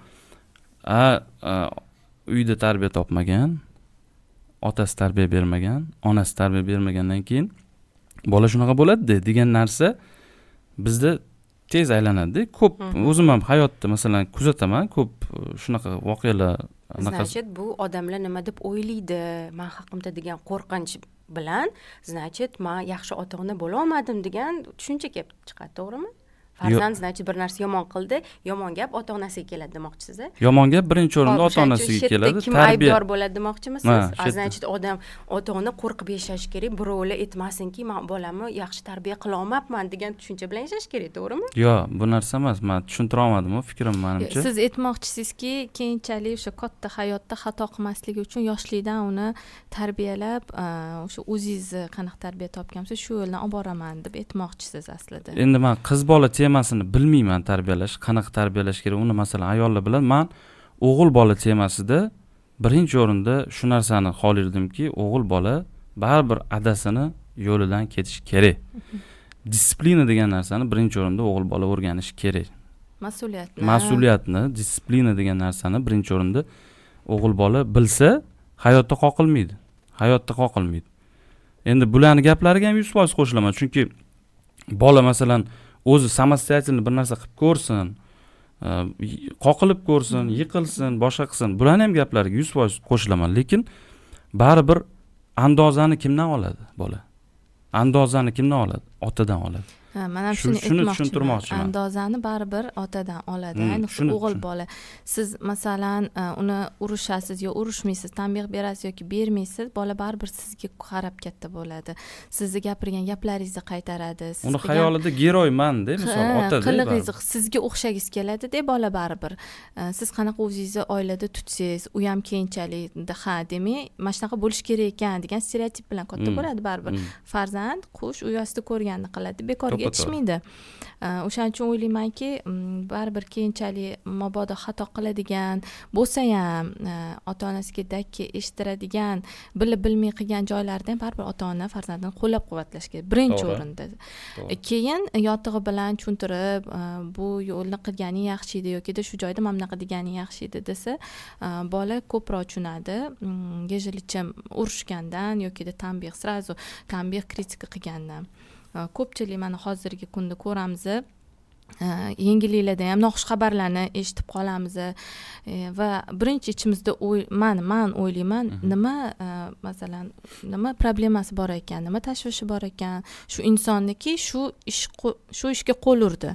Uyda tarbiya topmagan, otasi tarbiya bermagan, onasi tarbiya bermagandan keyin bola shunaqa bo'ladi degan narsa bizda tez aylanadi. Ko'p o'zim ham hayotda masalan kuzataman, ko'p shunaqa voqealar. Значит, bu odamlar nima deb o'ylaydi, men haqimda degan qo'rqinch bilan, значит, men yaxshi ota-ona bo'la olmadim degan tushuncha kelib chiqadi, to'g'rimi? Farzand значит bir narsa yomon qildi, yomon gap ota-onasiga keladi demoqchisiz-a? Yomon gap birinchi o'rinda ota-onasiga keladi. Kim aybdor bo'ladi demoqchimisiz? Значит, odam ota-ona qo'rqib yashash kerak, birovlar aytmasinki, men bolamni yaxshi tarbiya qila olmabman degan tushuncha bilan yashash kerak, to'g'rimi? Yo'q, bu narsa emas. Men tushuntira olmadim, fikrim menimcha. Siz aytmoqchisizki, keyinchalik o'sha katta hayotda xato qilmasligi uchun yoshlikdan uni tarbiyalab, o'sha o'zingiz qanaqa tarbiya topgansiz, shu yo'ldan olib boraman deb aytmoqchisiz aslida. Endi men qiz bola temasini bilmayman tarbiyalash, qanaqa tarbiyalash kerak. Uni masalan ayollar bilan, men o'g'il bola temasida birinchi o'rinda shu narsani xohlardimki, o'g'il bola baribir adasini yo'lidan ketish kerak. Disiplina degan narsani birinchi o'rinda o'g'il bola o'rganish kerak. Mas'uliyatni, disiplina degan narsani birinchi o'rinda o'g'il bola bilsa, hayotda qoqilmaydi. Endi bularning gaplariga ham 100% qo'shilaman, chunki bola masalan o'zi samostoятельно bir narsa qilib ko'rsin, qoqilib ko'rsin, yiqilsin, boshqa qilsin. Bularning ham gaplariga 100% qo'shilaman, lekin baribir andozani kimdan oladi bola? Andozani kimdan oladi? Otadan oladi. Mana shuni tushuntirmoqchiman. Andozani baribir otadan oladi. Ayniqsa o'g'il bola. Siz masalan uni urushasiz yo urushmaysiz, tanbeh berasiz yoki bermaysiz, bola baribir sizga qarab katta bo'ladi. Sizni gapirgan gaplaringizni qaytaradi. Uni xayolida geroyman-da, masalan, ota-da. Qilig'ingiz sizga o'xshagingiz keladi-da bola baribir. Siz qanaqa o'zingizni oilada tutsangiz, u ham keyinchalik demay, mana shunaqa bo'lish kerak ekan degan stereotip bilan katta bo'ladi baribir. Farzand qush u yoqda ko'rganini qiladi. Bekorga yetishmaydi. O'shaning uchun o'ylaymanki, baribir keyinchalik mabodo xato qiladigan bo'lsa ham, ota-onasiga dakki eshittiradigan, bilib bilmay qilgan joylarda ham baribir ota-ona farzandini qo'llab-quvvatlash kerak birinchi o'rinda. Keyin yotig'i bilan tushuntirib, bu yo'lni qilganing yaxshi edi yoki shu joyda mana bunaqa deganing yaxshi edi desa, bola ko'proq tushunadi. Gejilichim urushgandan yoki tanbeh, kritika qilgandan. Ko'pchilik mana hozirgi kunda ko'ramiz, yangiliklarda ham noxush xabarlarni eshitib qolamiz va birinchi ichimizda man o'ylayman nima masalan nima problemasi bor ekan, nima tashvishi bor ekan shu insonniki shu ishga qo'l urdi.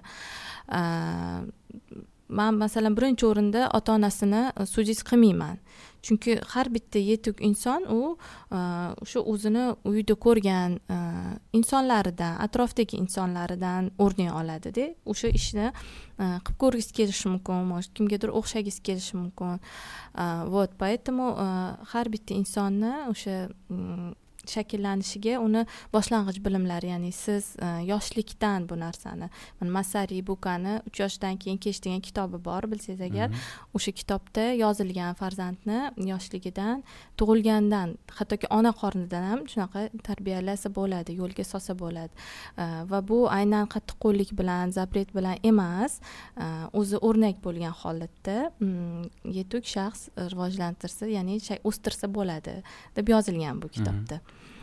Men masalan birinchi o'rinda ota-onasini sudist qilmayman. Chunki har bitta yetuk inson u o'sha o'zini uyda ko'rgan insonlaridan, atrofdagi insonlaridan o'rnak oladi-da. O'sha ishni qilib ko'rgisi kelishi mumkin, kimgadir o'xshagisi kelishi mumkin. Вот, поэтому har bitta insonni o'sha shakllanishiga uni boshlang'ich bilimlari, ya'ni siz yoshlikdan bu narsani, Masari Bukani 3 yoshdan keyin Kech degan kitobi bor, bilsangiz agar, o'sha kitobda yozilgan farzandni yoshligidan, tug'ilgandan, hattoki ona qornidan ham shunaqa tarbiyalasa bo'ladi, yo'lga solsa bo'ladi. Va bu aynan qattiqqo'llik bilan, zapret bilan emas, o'zi o'rnak bo'lgan holatda yetuk shaxs rivojlantirsa, ya'ni o'stirsa bo'ladi deb yozilgan bu kitobda.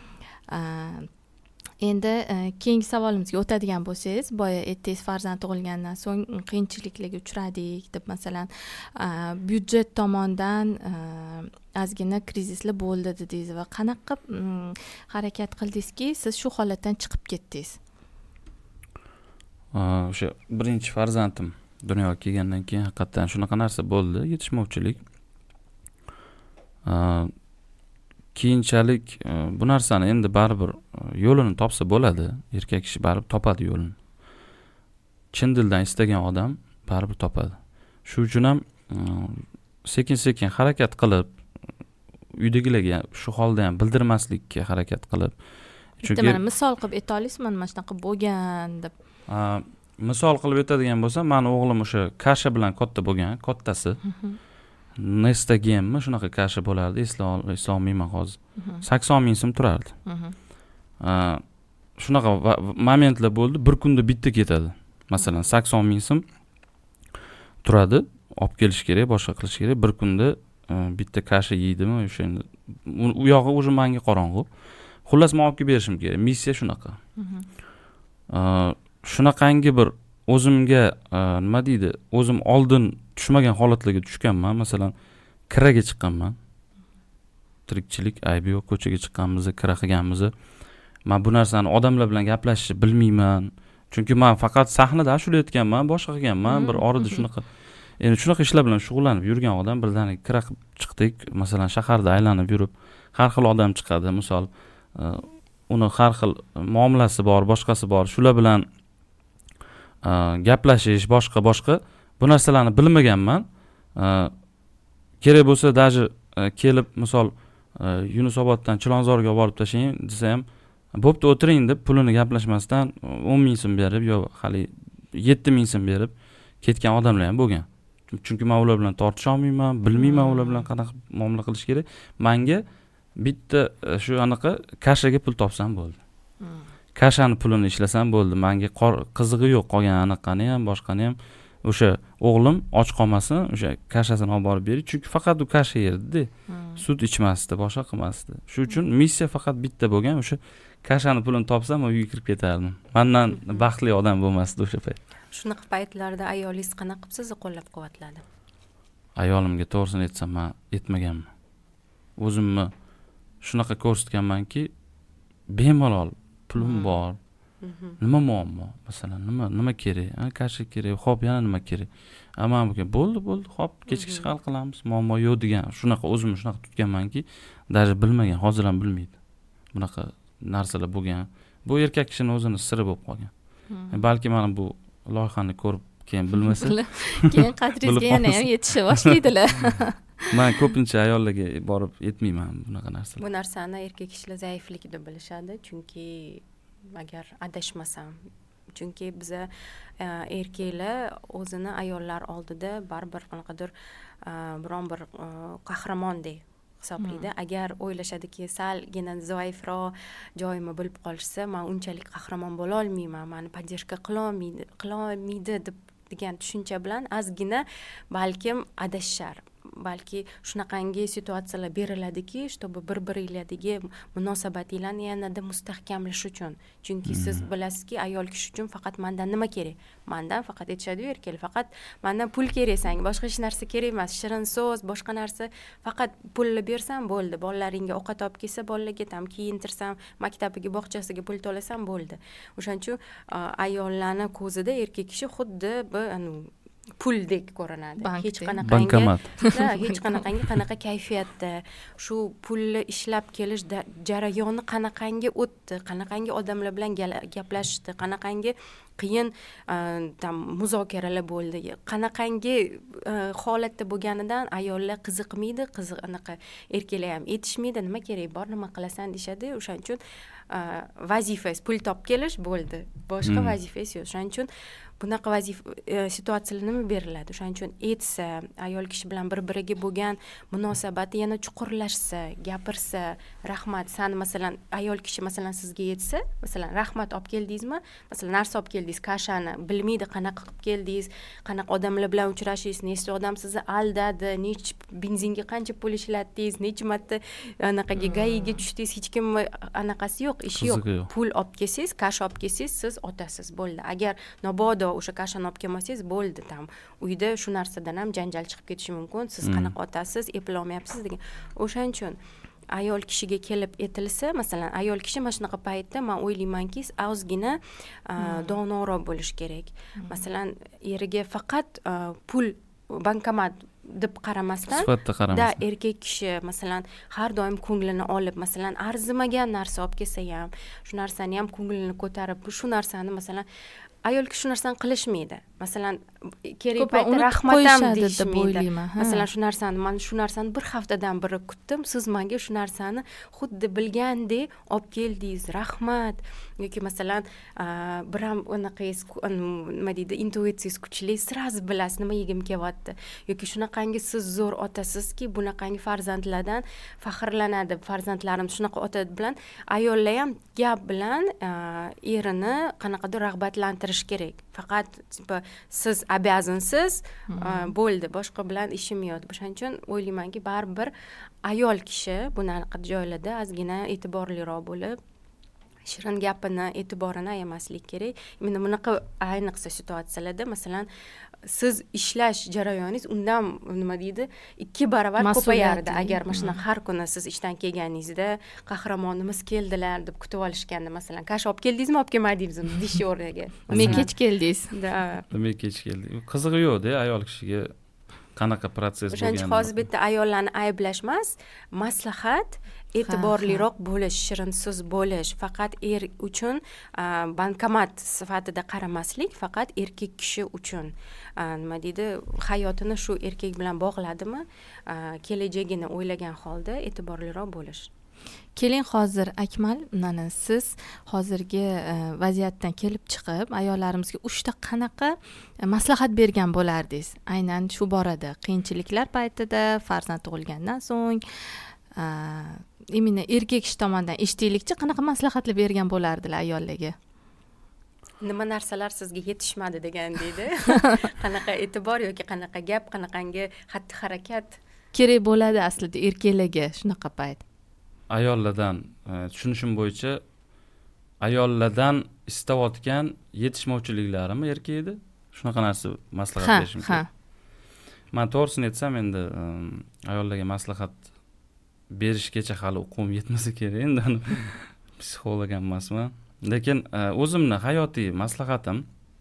Endi keyingi savolimizga o'tadigan bo'lsangiz, boya aytdingiz farzand tug'ilgandan so'ng qiyinchiliklarga uchradik deb, masalan, byudjet tomondan ozgina krizislar bo'ldi dedingiz va qanaqa harakat qildingizki, siz shu holatdan chiqib ketdingiz? O'sha birinchi farzandim dunyoga kelgandan keyin haqiqatan shunaqa narsa bo'ldi, yetishmovchilik. Keyinchalik bu narsani endi baribir yo'lini topsa bo'ladi. Erkak kishi baribir topadi yo'lini. Chin dildan istagan odam baribir topadi. Shu uchun ham sekin-sekin harakat qilib, uydagilarga shu holda ham bildirmaslikka harakat qilib. Chunki mana misol qilib ayta olasizmi, mana shunaqa bo'lgan deb? Misol qilib aytadigan bo'lsam, meni o'g'lim o'sha kasha bilan katta bo'lgan, kattasi. Nestagenmi shunaqa kasha bo'lardi, eslolmayman hozir. 80 ming so'm turardi. Shunaqa momentlar bo'ldi, bir kunda bitta ketadi. Masalan, 80 ming so'm turadi, olib kelish kerak, boshqa qilish kerak. Bir kunda bitta kasha yeydimi, o'sha endi u yog'i o'zi menga qorong'u. Xullas, men olib kelib berishim kerak. Missiya shunaqa. Shunaqangi bir o'zimga nima deydi, o'zim oldin tushmagan holatlarga tushganman. Masalan, kiraga chiqqanman. Tirikchilik aybi yo'q, ko'chaga chiqqanmiz, kira qilganmiz. Men bu narsani odamlar bilan gaplashishni bilmayman. Chunki men faqat sahnada ashula aytganman, boshqa qilganman, bir orada shunaqa. Endi shunaqa ishlar bilan shug'ullanib yurgan odam birdaniga kira qilib chiqdik. Masalan, shaharda aylanib yurib, har xil odam chiqadi. Misol, uni har xil muomalasi bor, boshqasi bor. Shular bilan gaplashish, boshqa bu narsalarni bilmaganman. Kerak bo'lsa даже kelib, misol Yunusoboddan Chilonzorga olib borib tashlang desa ham, bo'pti o'tiring deb pulini gaplashmasdan 10 ming so'm berib yo hali 7 ming so'm berib ketgan odamlar ham bo'lgan. Chunki men ular bilan tortisha olmayman, bilmayman ular bilan qanaqa muomala qilish kerak. Menga bitta shu anaqa kashaga pul topsam bo'ldi. Kashani pulini ishlasam bo'ldi. Menga qizig'i yo'q qolgan anaqani ham, boshqani ham. O'sha o'g'lim och qolmasin, o'sha kashasini olib borib bering. Chunki faqat u kasha yerdi-da. Sut ichmasdi, boshqa qilmasdi. Shu uchun missiya faqat bitta bo'lgan, o'sha kashani pulini topsam, uyga kirib ketardim. Mendan baxtli odam bo'lmasdi o'sha payt. Shunaqa paytlarda ayolingiz qanaqa qilib sizni qo'llab-quvvatladi? Ayolimga to'g'risini aytsam, men yetmaganman. O'zimni shunaqa ko'rsatganmanki, bemalol pulim bor. Nima muammo? Masalan, nima kerak? Kasha kerak, xo'p, yana nima kerak? Ammo bo'ldi, xo'p, kechgacha hal qilamiz. Muammo yo'q degan, shunaqa o'zimni shunaqa tutganmanki, даже bilmagan, hozir ham bilmaydi. Bunaqa narsalar bo'lgan. Bu erkak kishining o'zini siri bo'lib qolgan. Balki mana bu loyihani ko'rib keyin bilmasa, keyin qadringizga yana ham yetisha boshlaydilar. Men ko'pincha ayollarga borib yetmayman bunaqa narsalar. Bu narsani erkak kishilar zaiflik deb bilishadi, chunki agar adashmasam, chunki biza erkaklar o'zini ayollar oldida baribir qanaqadir biron bir qahramondek hisoblaydi. Agar o'ylashadiki, salgina zaifroq joyimni bilib qolishsa, men unchalik qahramon bo'la olmayman, meni podдержка qilolmaydi degan tushuncha bilan ozgina balkim adashar. balki shunaqangi situatsiyalar beriladiki, чтобы bir-biringlardagi munosabatinglarni yanada mustahkamlash uchun. Chunki siz bilasizki, ayol kishi uchun faqat mendan nima kerak? Mendan faqat aytishadi-yu erkaklar, faqat mendan pul kerak senga, boshqa hech narsa kerak emas. Shirin so'z, boshqa narsa, faqat pulni bersam bo'ldi. Bolalaringga ovqat olib kelsa, bolalarga tam kiyintirsam, maktabiga, bog'chasiga pul to'lasam bo'ldi. O'shaning uchun ayollarning ko'zida erkak kishi xuddi bir puldek ko'rinadi. Hech qanaqangi qanaqa kayfiyatda, shu pulni ishlab kelish jarayoni qanaqangi o'tdi, qanaqangi odamlar bilan gaplashdi, qanaqangi qiyin muzokaralar bo'ldi, qanaqangi holatda bo'lganidan ayollar qiziqmaydi, anaqa erkaklar ham aytishmaydi, nima kerak bor, nima qilasan deyshadi. O'shaning uchun vazifangiz pul topib kelish bo'ldi, boshqa vazifangiz yo'q. O'shaning uchun bunaqa situatsiyalar nima beriladi? O'shaning uchun aytsa, ayol kishi bilan bir-biriga bo'lgan munosabati yana chuqurlashsa, gapirsa, rahmat, sani masalan ayol kishi masalan sizga aytsa, masalan rahmat olib keldingizmi? Masalan narsa olib keldingiz, kashani, bilmaydi qanaqa qilib keldingiz, qanaqa odamlar bilan uchrashingiz, nechta odam sizni aldadi, nech benzinga qancha pul ishlatdingiz, necha marta anaqaga gayiga tushdingiz, hech kim anaqasi yo'q, ishi yo'q. Pul olib kelsangiz, kash olib kelsangiz, siz otasiz, bo'ldi. Agar mabodo o'sha kashani olib kelmasangiz, bo'ldi, tam uyda shu narsadan ham janjal chiqib ketishi mumkin. Siz qanaqa otasiz, eplolmayapsiz degan. O'shaning uchun ayol kishiga kelib aytilsa, masalan ayol kishi mana shunaqa paytda men o'ylaymanki, ozgina donoroq bo'lish kerak. Masalan eriga faqat pul, bankomat deb qaramasdan, erkak kishi masalan har doim ko'nglini olib, masalan arzimagan narsa olib kelsa ham, shu narsani ham ko'nglini ko'tarib, shu narsani masalan ayol kishi shu narsani qilishmaydi. Masalan, kerak paytda rahmatam deyishmaydi. Masalan, shu narsani bir haftadan beri kutdim, siz menga shu narsani xuddi bilgandek olib keldingiz, rahmat. Yoki masalan, bir ham unaqangiz, nima deydi, intuitsiyangiz kuchli, sразу bilasiz nima yegim kelyapti. Yoki shunaqangi siz zo'r otasizki, bunaqangi farzandlardan faxrlanadi. Farzandlarim shunaqa ota bilan, ayollar ham gap bilan erini qanaqadir rag'batlantirish kerak. Faqat siz обязанsiz, bo'ldi, boshqa bilan ishim yo'q. O'shaning uchun o'ylaymanki, baribir ayol kishi bunaqa joylarda ozgina e'tiborliroq bo'lib, shirin gapini, e'tiborini ayamaslik kerak. Mana bunaqa ayniqsa situatsiyalarda, masalan, siz ishlash jarayoningiz undan nima deydi, 2 barobar ko'payardi. Agar mana shuna har kuni siz ishdan kelganingizda qahramonimiz keldilar deb kutib olishganda, masalan, kash olib keldingizmi, olib kelmadingizmi deyish o'rniga. Men kech keldingiz. Men kech keldim. Qizig'i yo'q-da ayol kishiga qanaqa protsess bo'lgan. O'shancha hozir bitta ayollarni ayblash emas, maslahat, e'tiborliroq bo'lish, shirin so'z bo'lish, faqat er uchun bankomat sifatida qaramaslik, faqat erkak kishi uchun nima deydi, hayotini shu erkak bilan bog'ladimi, kelajagini o'ylagan holda e'tiborliroq bo'lish. Keling, hozir Akmal, siz hozirgi vaziyatdan kelib chiqib, ayollarimizga 3 ta qanaqa maslahat bergan bo'lardingiz? Aynan shu borada, qiyinchiliklar paytida, farzand tug'ilgandan so'ng, imini erkak kishi tomonidan eshitaylikchi, qanaqa maslahatlar bergan bo'lardilar ayollarga? Nima narsalar sizga yetishmadi degan deydi. Qanaqa e'tibor yoki qanaqa gap, qanaqangi xatti-harakat kerak bo'ladi aslida erkaklarga shunaqa payt? Ayollardan tushunishim bo'yicha ayollardan istayotgan yetishmovchiliklarimi erkakda? Shunaqa narsa maslahat berishim kerak. Men to'g'risini aytsam, endi ayollarga maslahat berishgacha hali o'quvim yetmasa kerak, endi psixolog ham emasman. Lekin o'zimni hayotiy maslahatim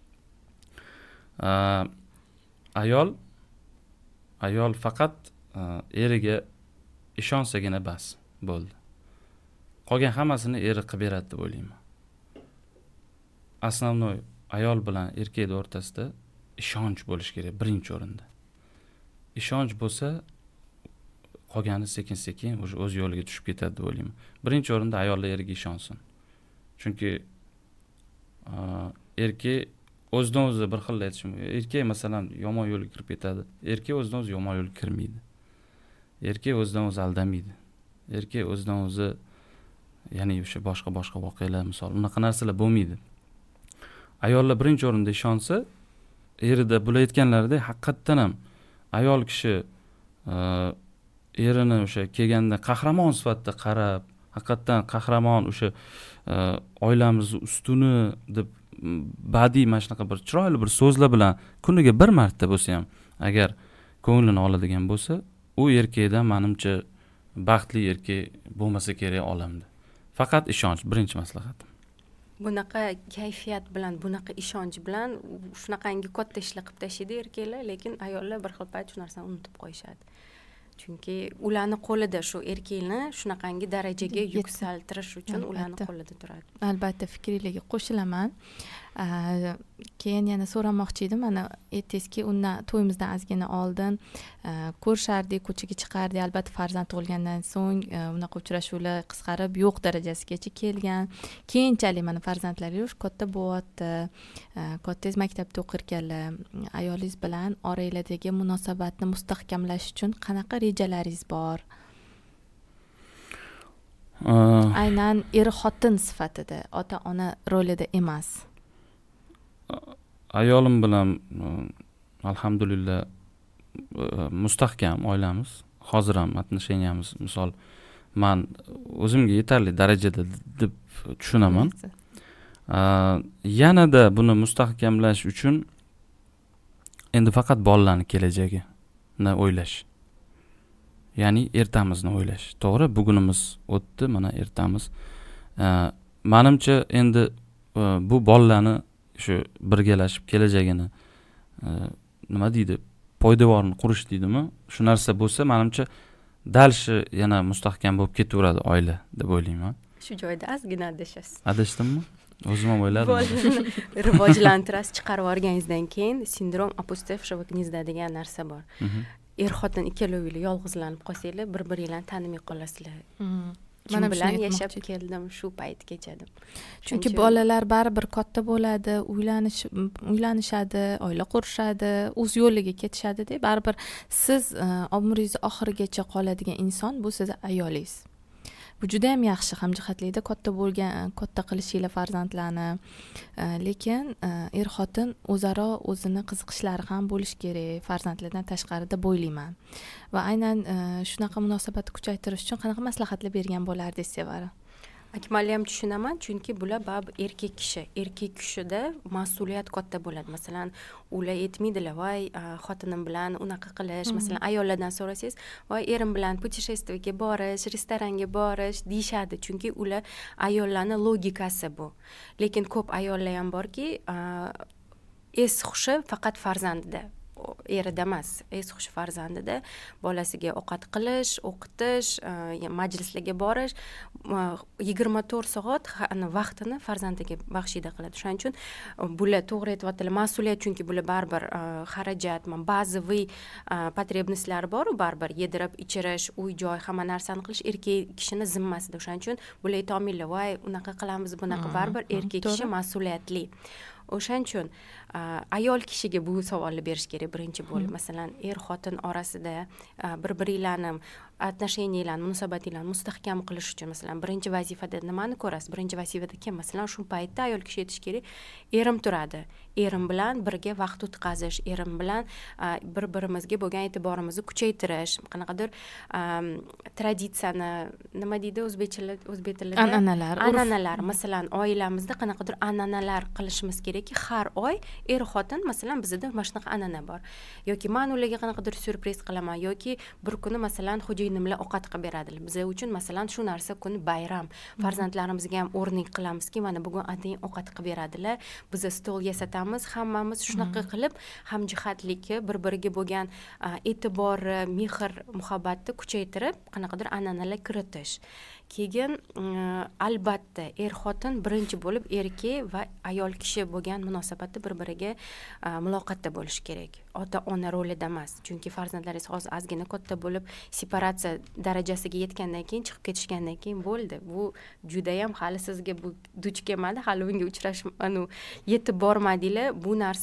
ayol faqat eriga ishonsagina bas, bo'ldi. Qolgan hammasini eri qilib beradi deb o'ylayman. Основной ayol bilan erkak o'rtasida ishonch bo'lish kerak birinchi o'rinda. Ishonch bo'lsa, qolgani sekin-sekin o'z yo'liga tushib ketadi deb o'ylayman. Birinchi o'rinda ayollar eriga ishonsin. Chunki erkak o'zidan o'zi bir xil aytishim. Erkak masalan yomon yo'lga kirib ketadi. Erkak o'zidan o'zi yomon yo'lga kirmaydi. Erkak o'zidan o'zi aldamaydi. Erkak o'zidan o'zi, ya'ni o'sha boshqa voqealar, misol, unaqa narsalar bo'lmaydi. Ayollar birinchi o'rinda ishonsa, erida bular aytganlaridek haqiqatdan ham ayol kishi erini o'sha kelganda qahramon sifatida qarab, haqiqatdan qahramon o'sha oilamiz ustuni deb badiiy mana shunaqa bir chiroyli bir so'zlar bilan kuniga bir marta bo'lsa ham agar ko'nglini oladigan bo'lsa, u erkakdan menimcha baxtli erkak bo'lmasa kerak olamda. Faqat ishonch birinchi maslahatim. Bunaqa kayfiyat bilan, bunaqa ishonch bilan shunaqangi katta ishlar qilib tashlaydi erkaklar, lekin ayollar bir xil payt shu narsani unutib qo'yishadi. Chunki ularni qo'lida shu erkakni shunaqangi darajaga yuksaltirish uchun ularni qo'lida turadi. Albatta fikringizga qo'shilaman. Keyin yana so'ramoqchi edim, mana aytdingizki, undan to'yimizdan ozgina oldin ko'rishardik, ko'chaga chiqardik. Albatta farzand tug'ilgandan so'ng unaqa uchrashuvlar qisqarib yo'q darajasigacha kelgan. Keyinchalik mana farzandlaringiz katta bo'lyapti. Kattangiz maktabda o'qirkanlar. Ayolingiz bilan oiladagi munosabatni mustahkamlash uchun qanaqa rejalaringiz bor? Aynan er-xotin sifatida, ota-ona rolida emas. Ayolim bilan alhamdulillah mustahkam oilamiz. Hozir ham отношениямыз, misol, men o'zimga yetarli darajada deb tushunaman. Yanada buni mustahkamlash uchun endi faqat bolalarning kelajagini o'ylash. Ya'ni ertamizni o'ylash. To'g'ri, bugunimiz o'tdi, mana ertamiz. Menimcha endi bu bolalarni shu birgalashib kelajagini nima deydi? Poydevorni qurish deydimi? Shu narsa bo'lsa, menimcha dalshi yana mustahkam bo'lib ketaveradi oila deb o'ylayman. Shu joyda ozgina adashasiz. Adashdimmi? O'zim ham o'yladim. Rivojlantirasiz, chiqarib olganingizdan keyin sindrom опустевшего гнезда degan narsa bor. Er-xotin ikkalovingiz yolg'izlanib qolsanglar, bir-biringlarni tanimay qolasizlar. Mana bilan yashab keldim, shu paytgacha deb. Chunki bolalar baribir katta bo'ladi, uylanishadi, oila qurishadi, o'z yo'liga ketishadi-da. Baribir siz umringiz oxirigacha qoladigan inson bu sizning ayolingiz. Bu juda ham yaxshi hamjihatlikda katta qilishinglar farzandlarni. Lekin er-xotin o'zaro o'zini qiziqishlari ham bo'lish kerak, farzandlardan tashqarida bo'ylayman. Va aynan shunaqa munosabatni kuchaytirish uchun qanaqa maslahatlar bergan bo'lardingiz Sevara? Akmalli ham tushunaman, chunki bular baribir erkak kishida mas'uliyat katta bo'ladi. Masalan, ular aytmaydilar, voy xotinim bilan unaqa qilish, masalan, ayollardan so'rasangiz, voy erim bilan putешествиеga borish, restoranga borish deyshadi, chunki ular ayollarning logikasi bu. Lekin ko'p ayollar ham borki, es hushi faqat farzandida. Erida emas, es hushi farzandida, bolasiga ovqat qilish, o'qitish, majlislarga borish, 24 soat vaqtini farzandiga baxshida qiladi. Shuning uchun bular to'g'ri aytyaptilar, mas'uliyat, chunki bular baribir xarajat, bazaviy потребностьлari bor, baribir yedirib, ichirish, uy-joy, hamma narsani qilish erkak kishini zimmasida. Shuning uchun bular ayta olmaydilar, voy unaqa qilamiz, bunaqa, baribir erkak kishi mas'uliyatli. O'shaning uchun ayol kishiga bu savolni berish kerak birinchi bo'lib. Masalan, er-xotin orasida bir-biringlarni отношенияларni, munosabatlarni mustahkam qilish uchun masalan, birinchi vazifada nimani ko'rasiz? Birinchi vazifada kim? Masalan, shu paytda ayol kishi aytish kerak, erim turadi. Erim bilan birga vaqt o'tkazish, erim bilan bir-birimizga bo'lgan e'tiborimizni kuchaytirish, qanaqadir traditsiyani, nima deydi o'zbek tilida? An'analar. Masalan, oilamizda qanaqadir an'analar qilishimiz kerakki, har oy er-xotin, masalan, bizda mana shunaqa an'ana bor. Yoki men ularga qanaqadir syurpriz qilaman, yoki bir kuni masalan xo'jayinimlar ovqat qilib beradilar. Biz uchun masalan shu narsa kuni bayram. Farzandlarimizga ham o'rnak qilamizki, mana bugun atayin ovqat qilib beradilar. Biz stol yasatamiz, hammamiz shunaqa qilib hamjihatlikni, bir-biriga bo'lgan e'tibor, mehr, muhabbatni kuchaytirib, qanaqadir an'analar kiritish. Keyin albatta er-xotin birinchi bo'lib erkak va ayol kishi bo'lgan munosabatda bir-biriga muloqotda bo'lish kerak. Ota-ona rolida emas. Chunki farzandlaringiz hozir ozgina katta bo'lib, separatsiya darajasiga yetgandan keyin, chiqib ketishgandan keyin bo'ldi. Bu juda ham hali sizga bu duch kelmadi, hali unga uchrash, yetib bormadinglar. Bu narsa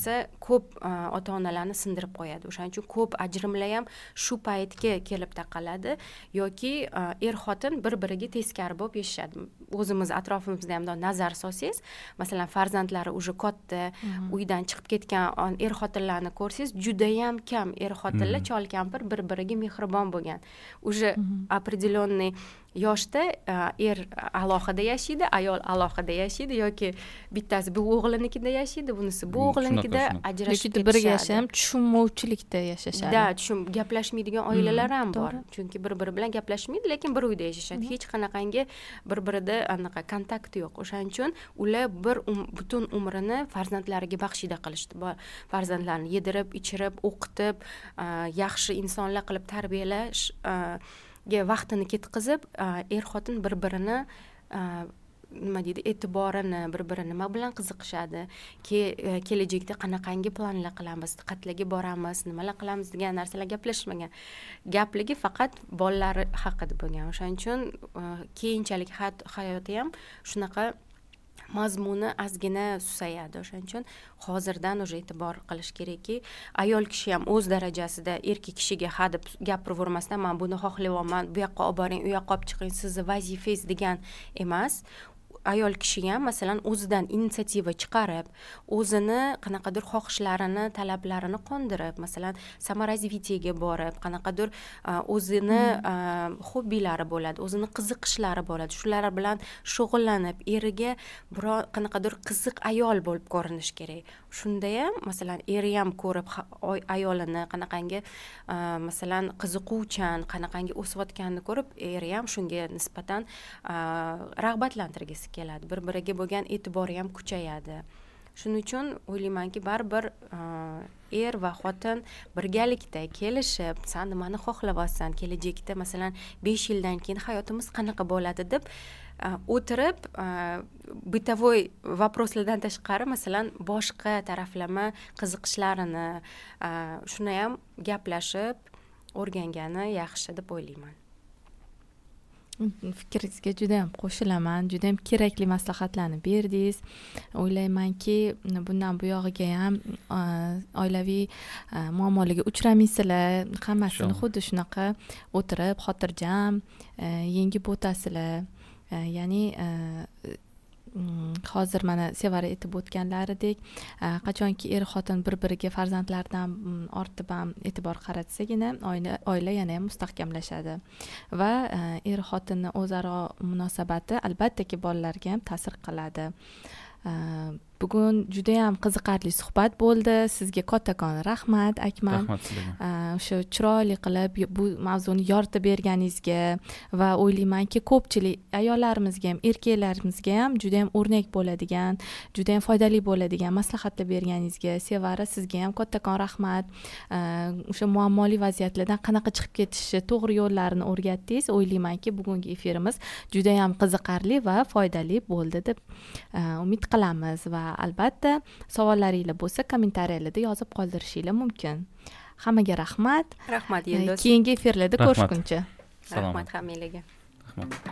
ko'p ota-onalarni sindirib qo'yadi. O'shaning uchun ko'p ajrimlar ham shu paytga kelib taqaladi yoki xotin bir-biriga teskari bo'lib yashashadi. O'zimiz atrofimizda ham nazar solsangiz, masalan, farzandlari уже katta, uydan chiqib ketgan xotinlarni ko'rsangiz, juda ham kam xotinlar chol-kampir bir-biriga mehribon bo'lgan. Уже определенный yoshda alohida yashaydi, ayol alohida yashaydi yoki bittasi bu o'g'linikida yashaydi, bunisi bu o'g'linikida ajrashib ketishadi. Birga yashab, tushunmovchilikda yashashadi. Da, gaplashmaydigan oilalar ham bor. Chunki bir-biri bilan gaplashmaydi, lekin bir uyda yashashadi. Hech qanaqangi bir-birida anaqa kontakt yo'q. O'shaning uchun ular butun umrini farzandlariga baxshida qilishdi. Farzandlarni yedirib, ichirib, o'qitib, yaxshi insonlar qilib tarbiyalash vaqtini ketkazib, xotin bir-birini nima deydi, e'tiborini, bir-biri nima bilan qiziqishadi, kelajakda qanaqangi planlar qilamiz, qayerlarga boramiz, nimalar qilamiz degan narsalar gaplashmagan. Gapligi faqat bolalari haqida bo'lgan. O'shaning uchun keyinchalik hayoti ham shunaqa mazmuni ozgina susayadi. O'shaning uchun hozirdan уже e'tibor qilish kerakki, ayol kishi ham o'z darajasida erkak kishiga hadeb gapiravermasdan, men buni xohlayapman, bu yoqqa olib boring, u yoqqa olib chiqing, sizni vazifangiz degan emas. Ayol kishi ham masalan o'zidan inisiativa chiqarib, o'zini qanaqadir xohishlarini, talablarini qondirib, masalan, samorazvitiyaga borib, qanaqadir o'zini hobbilari bo'ladi, o'zini qiziqishlari bo'ladi. Shular bilan shug'ullanib, eriga qanaqadir qiziq ayol bo'lib ko'rinish kerak. Shunda ham masalan eri ham ko'rib ayolini qanaqangi masalan qiziquvchan, qanaqangi o'sayotganini ko'rib, eri ham shunga nisbatan rag'batlantirgisi keladi. Bir-biriga bo'lgan e'tibori ham kuchayadi. Shuning uchun o'ylaymanki, baribir va xotin birgalikda kelishib, sen nimani xohlayapsan, kelajakda masalan 5 yildan keyin hayotimiz qanaqa bo'ladi deb o'tirib, bытовой vопроslardan tashqari masalan boshqa taraflama qiziqishlarini shuni ham gaplashib o'rgangani yaxshi deb o'ylayman. Fikringizga juda ham qo'shilaman, juda ham kerakli maslahatlarni berdingiz. O'ylaymanki, bundan buyog'iga ham oilaviy muammolarga uchramaysizlar, hammasini xuddi shunaqa o'tirib, xotirjam yengib o'tasizlar. Ya'ni hozir mana Sevara aytib o'tganlaridek, qachonki xotin bir-biriga farzandlardan ortib ham e'tibor qaratsagina oila yana ham mustahkamlashadi va xotinning o'zaro munosabati albattaki bolalarga ham ta'sir qiladi. Bugun juda ham qiziqarli suhbat bo'ldi. Sizga kattakon rahmat, Akmal. Rahmat sizga. O'sha chiroyli qilib bu mavzuni yoritib berganingizga va o'ylaymanki, ko'pchilik ayollarimizga ham, erkaklarimizga ham juda ham o'rnak bo'ladigan, juda ham foydali bo'ladigan maslahatlar berganingizga, Sevara, sizga ham kattakon rahmat. O'sha muammoli vaziyatlardan qanaqa chiqib ketishni, to'g'ri yo'llarini o'rgatdingiz. O'ylaymanki, bugungi efirimiz juda ham qiziqarli va foydali bo'ldi deb umid qilamiz va albatta savollaringiz bo'lsa kommentariyalarda yozib qoldirishinglar mumkin. Hammaga rahmat. Rahmat Yulduz. Keyingi efirlarda ko'rishguncha. Rahmat hammalarga. Rahmat.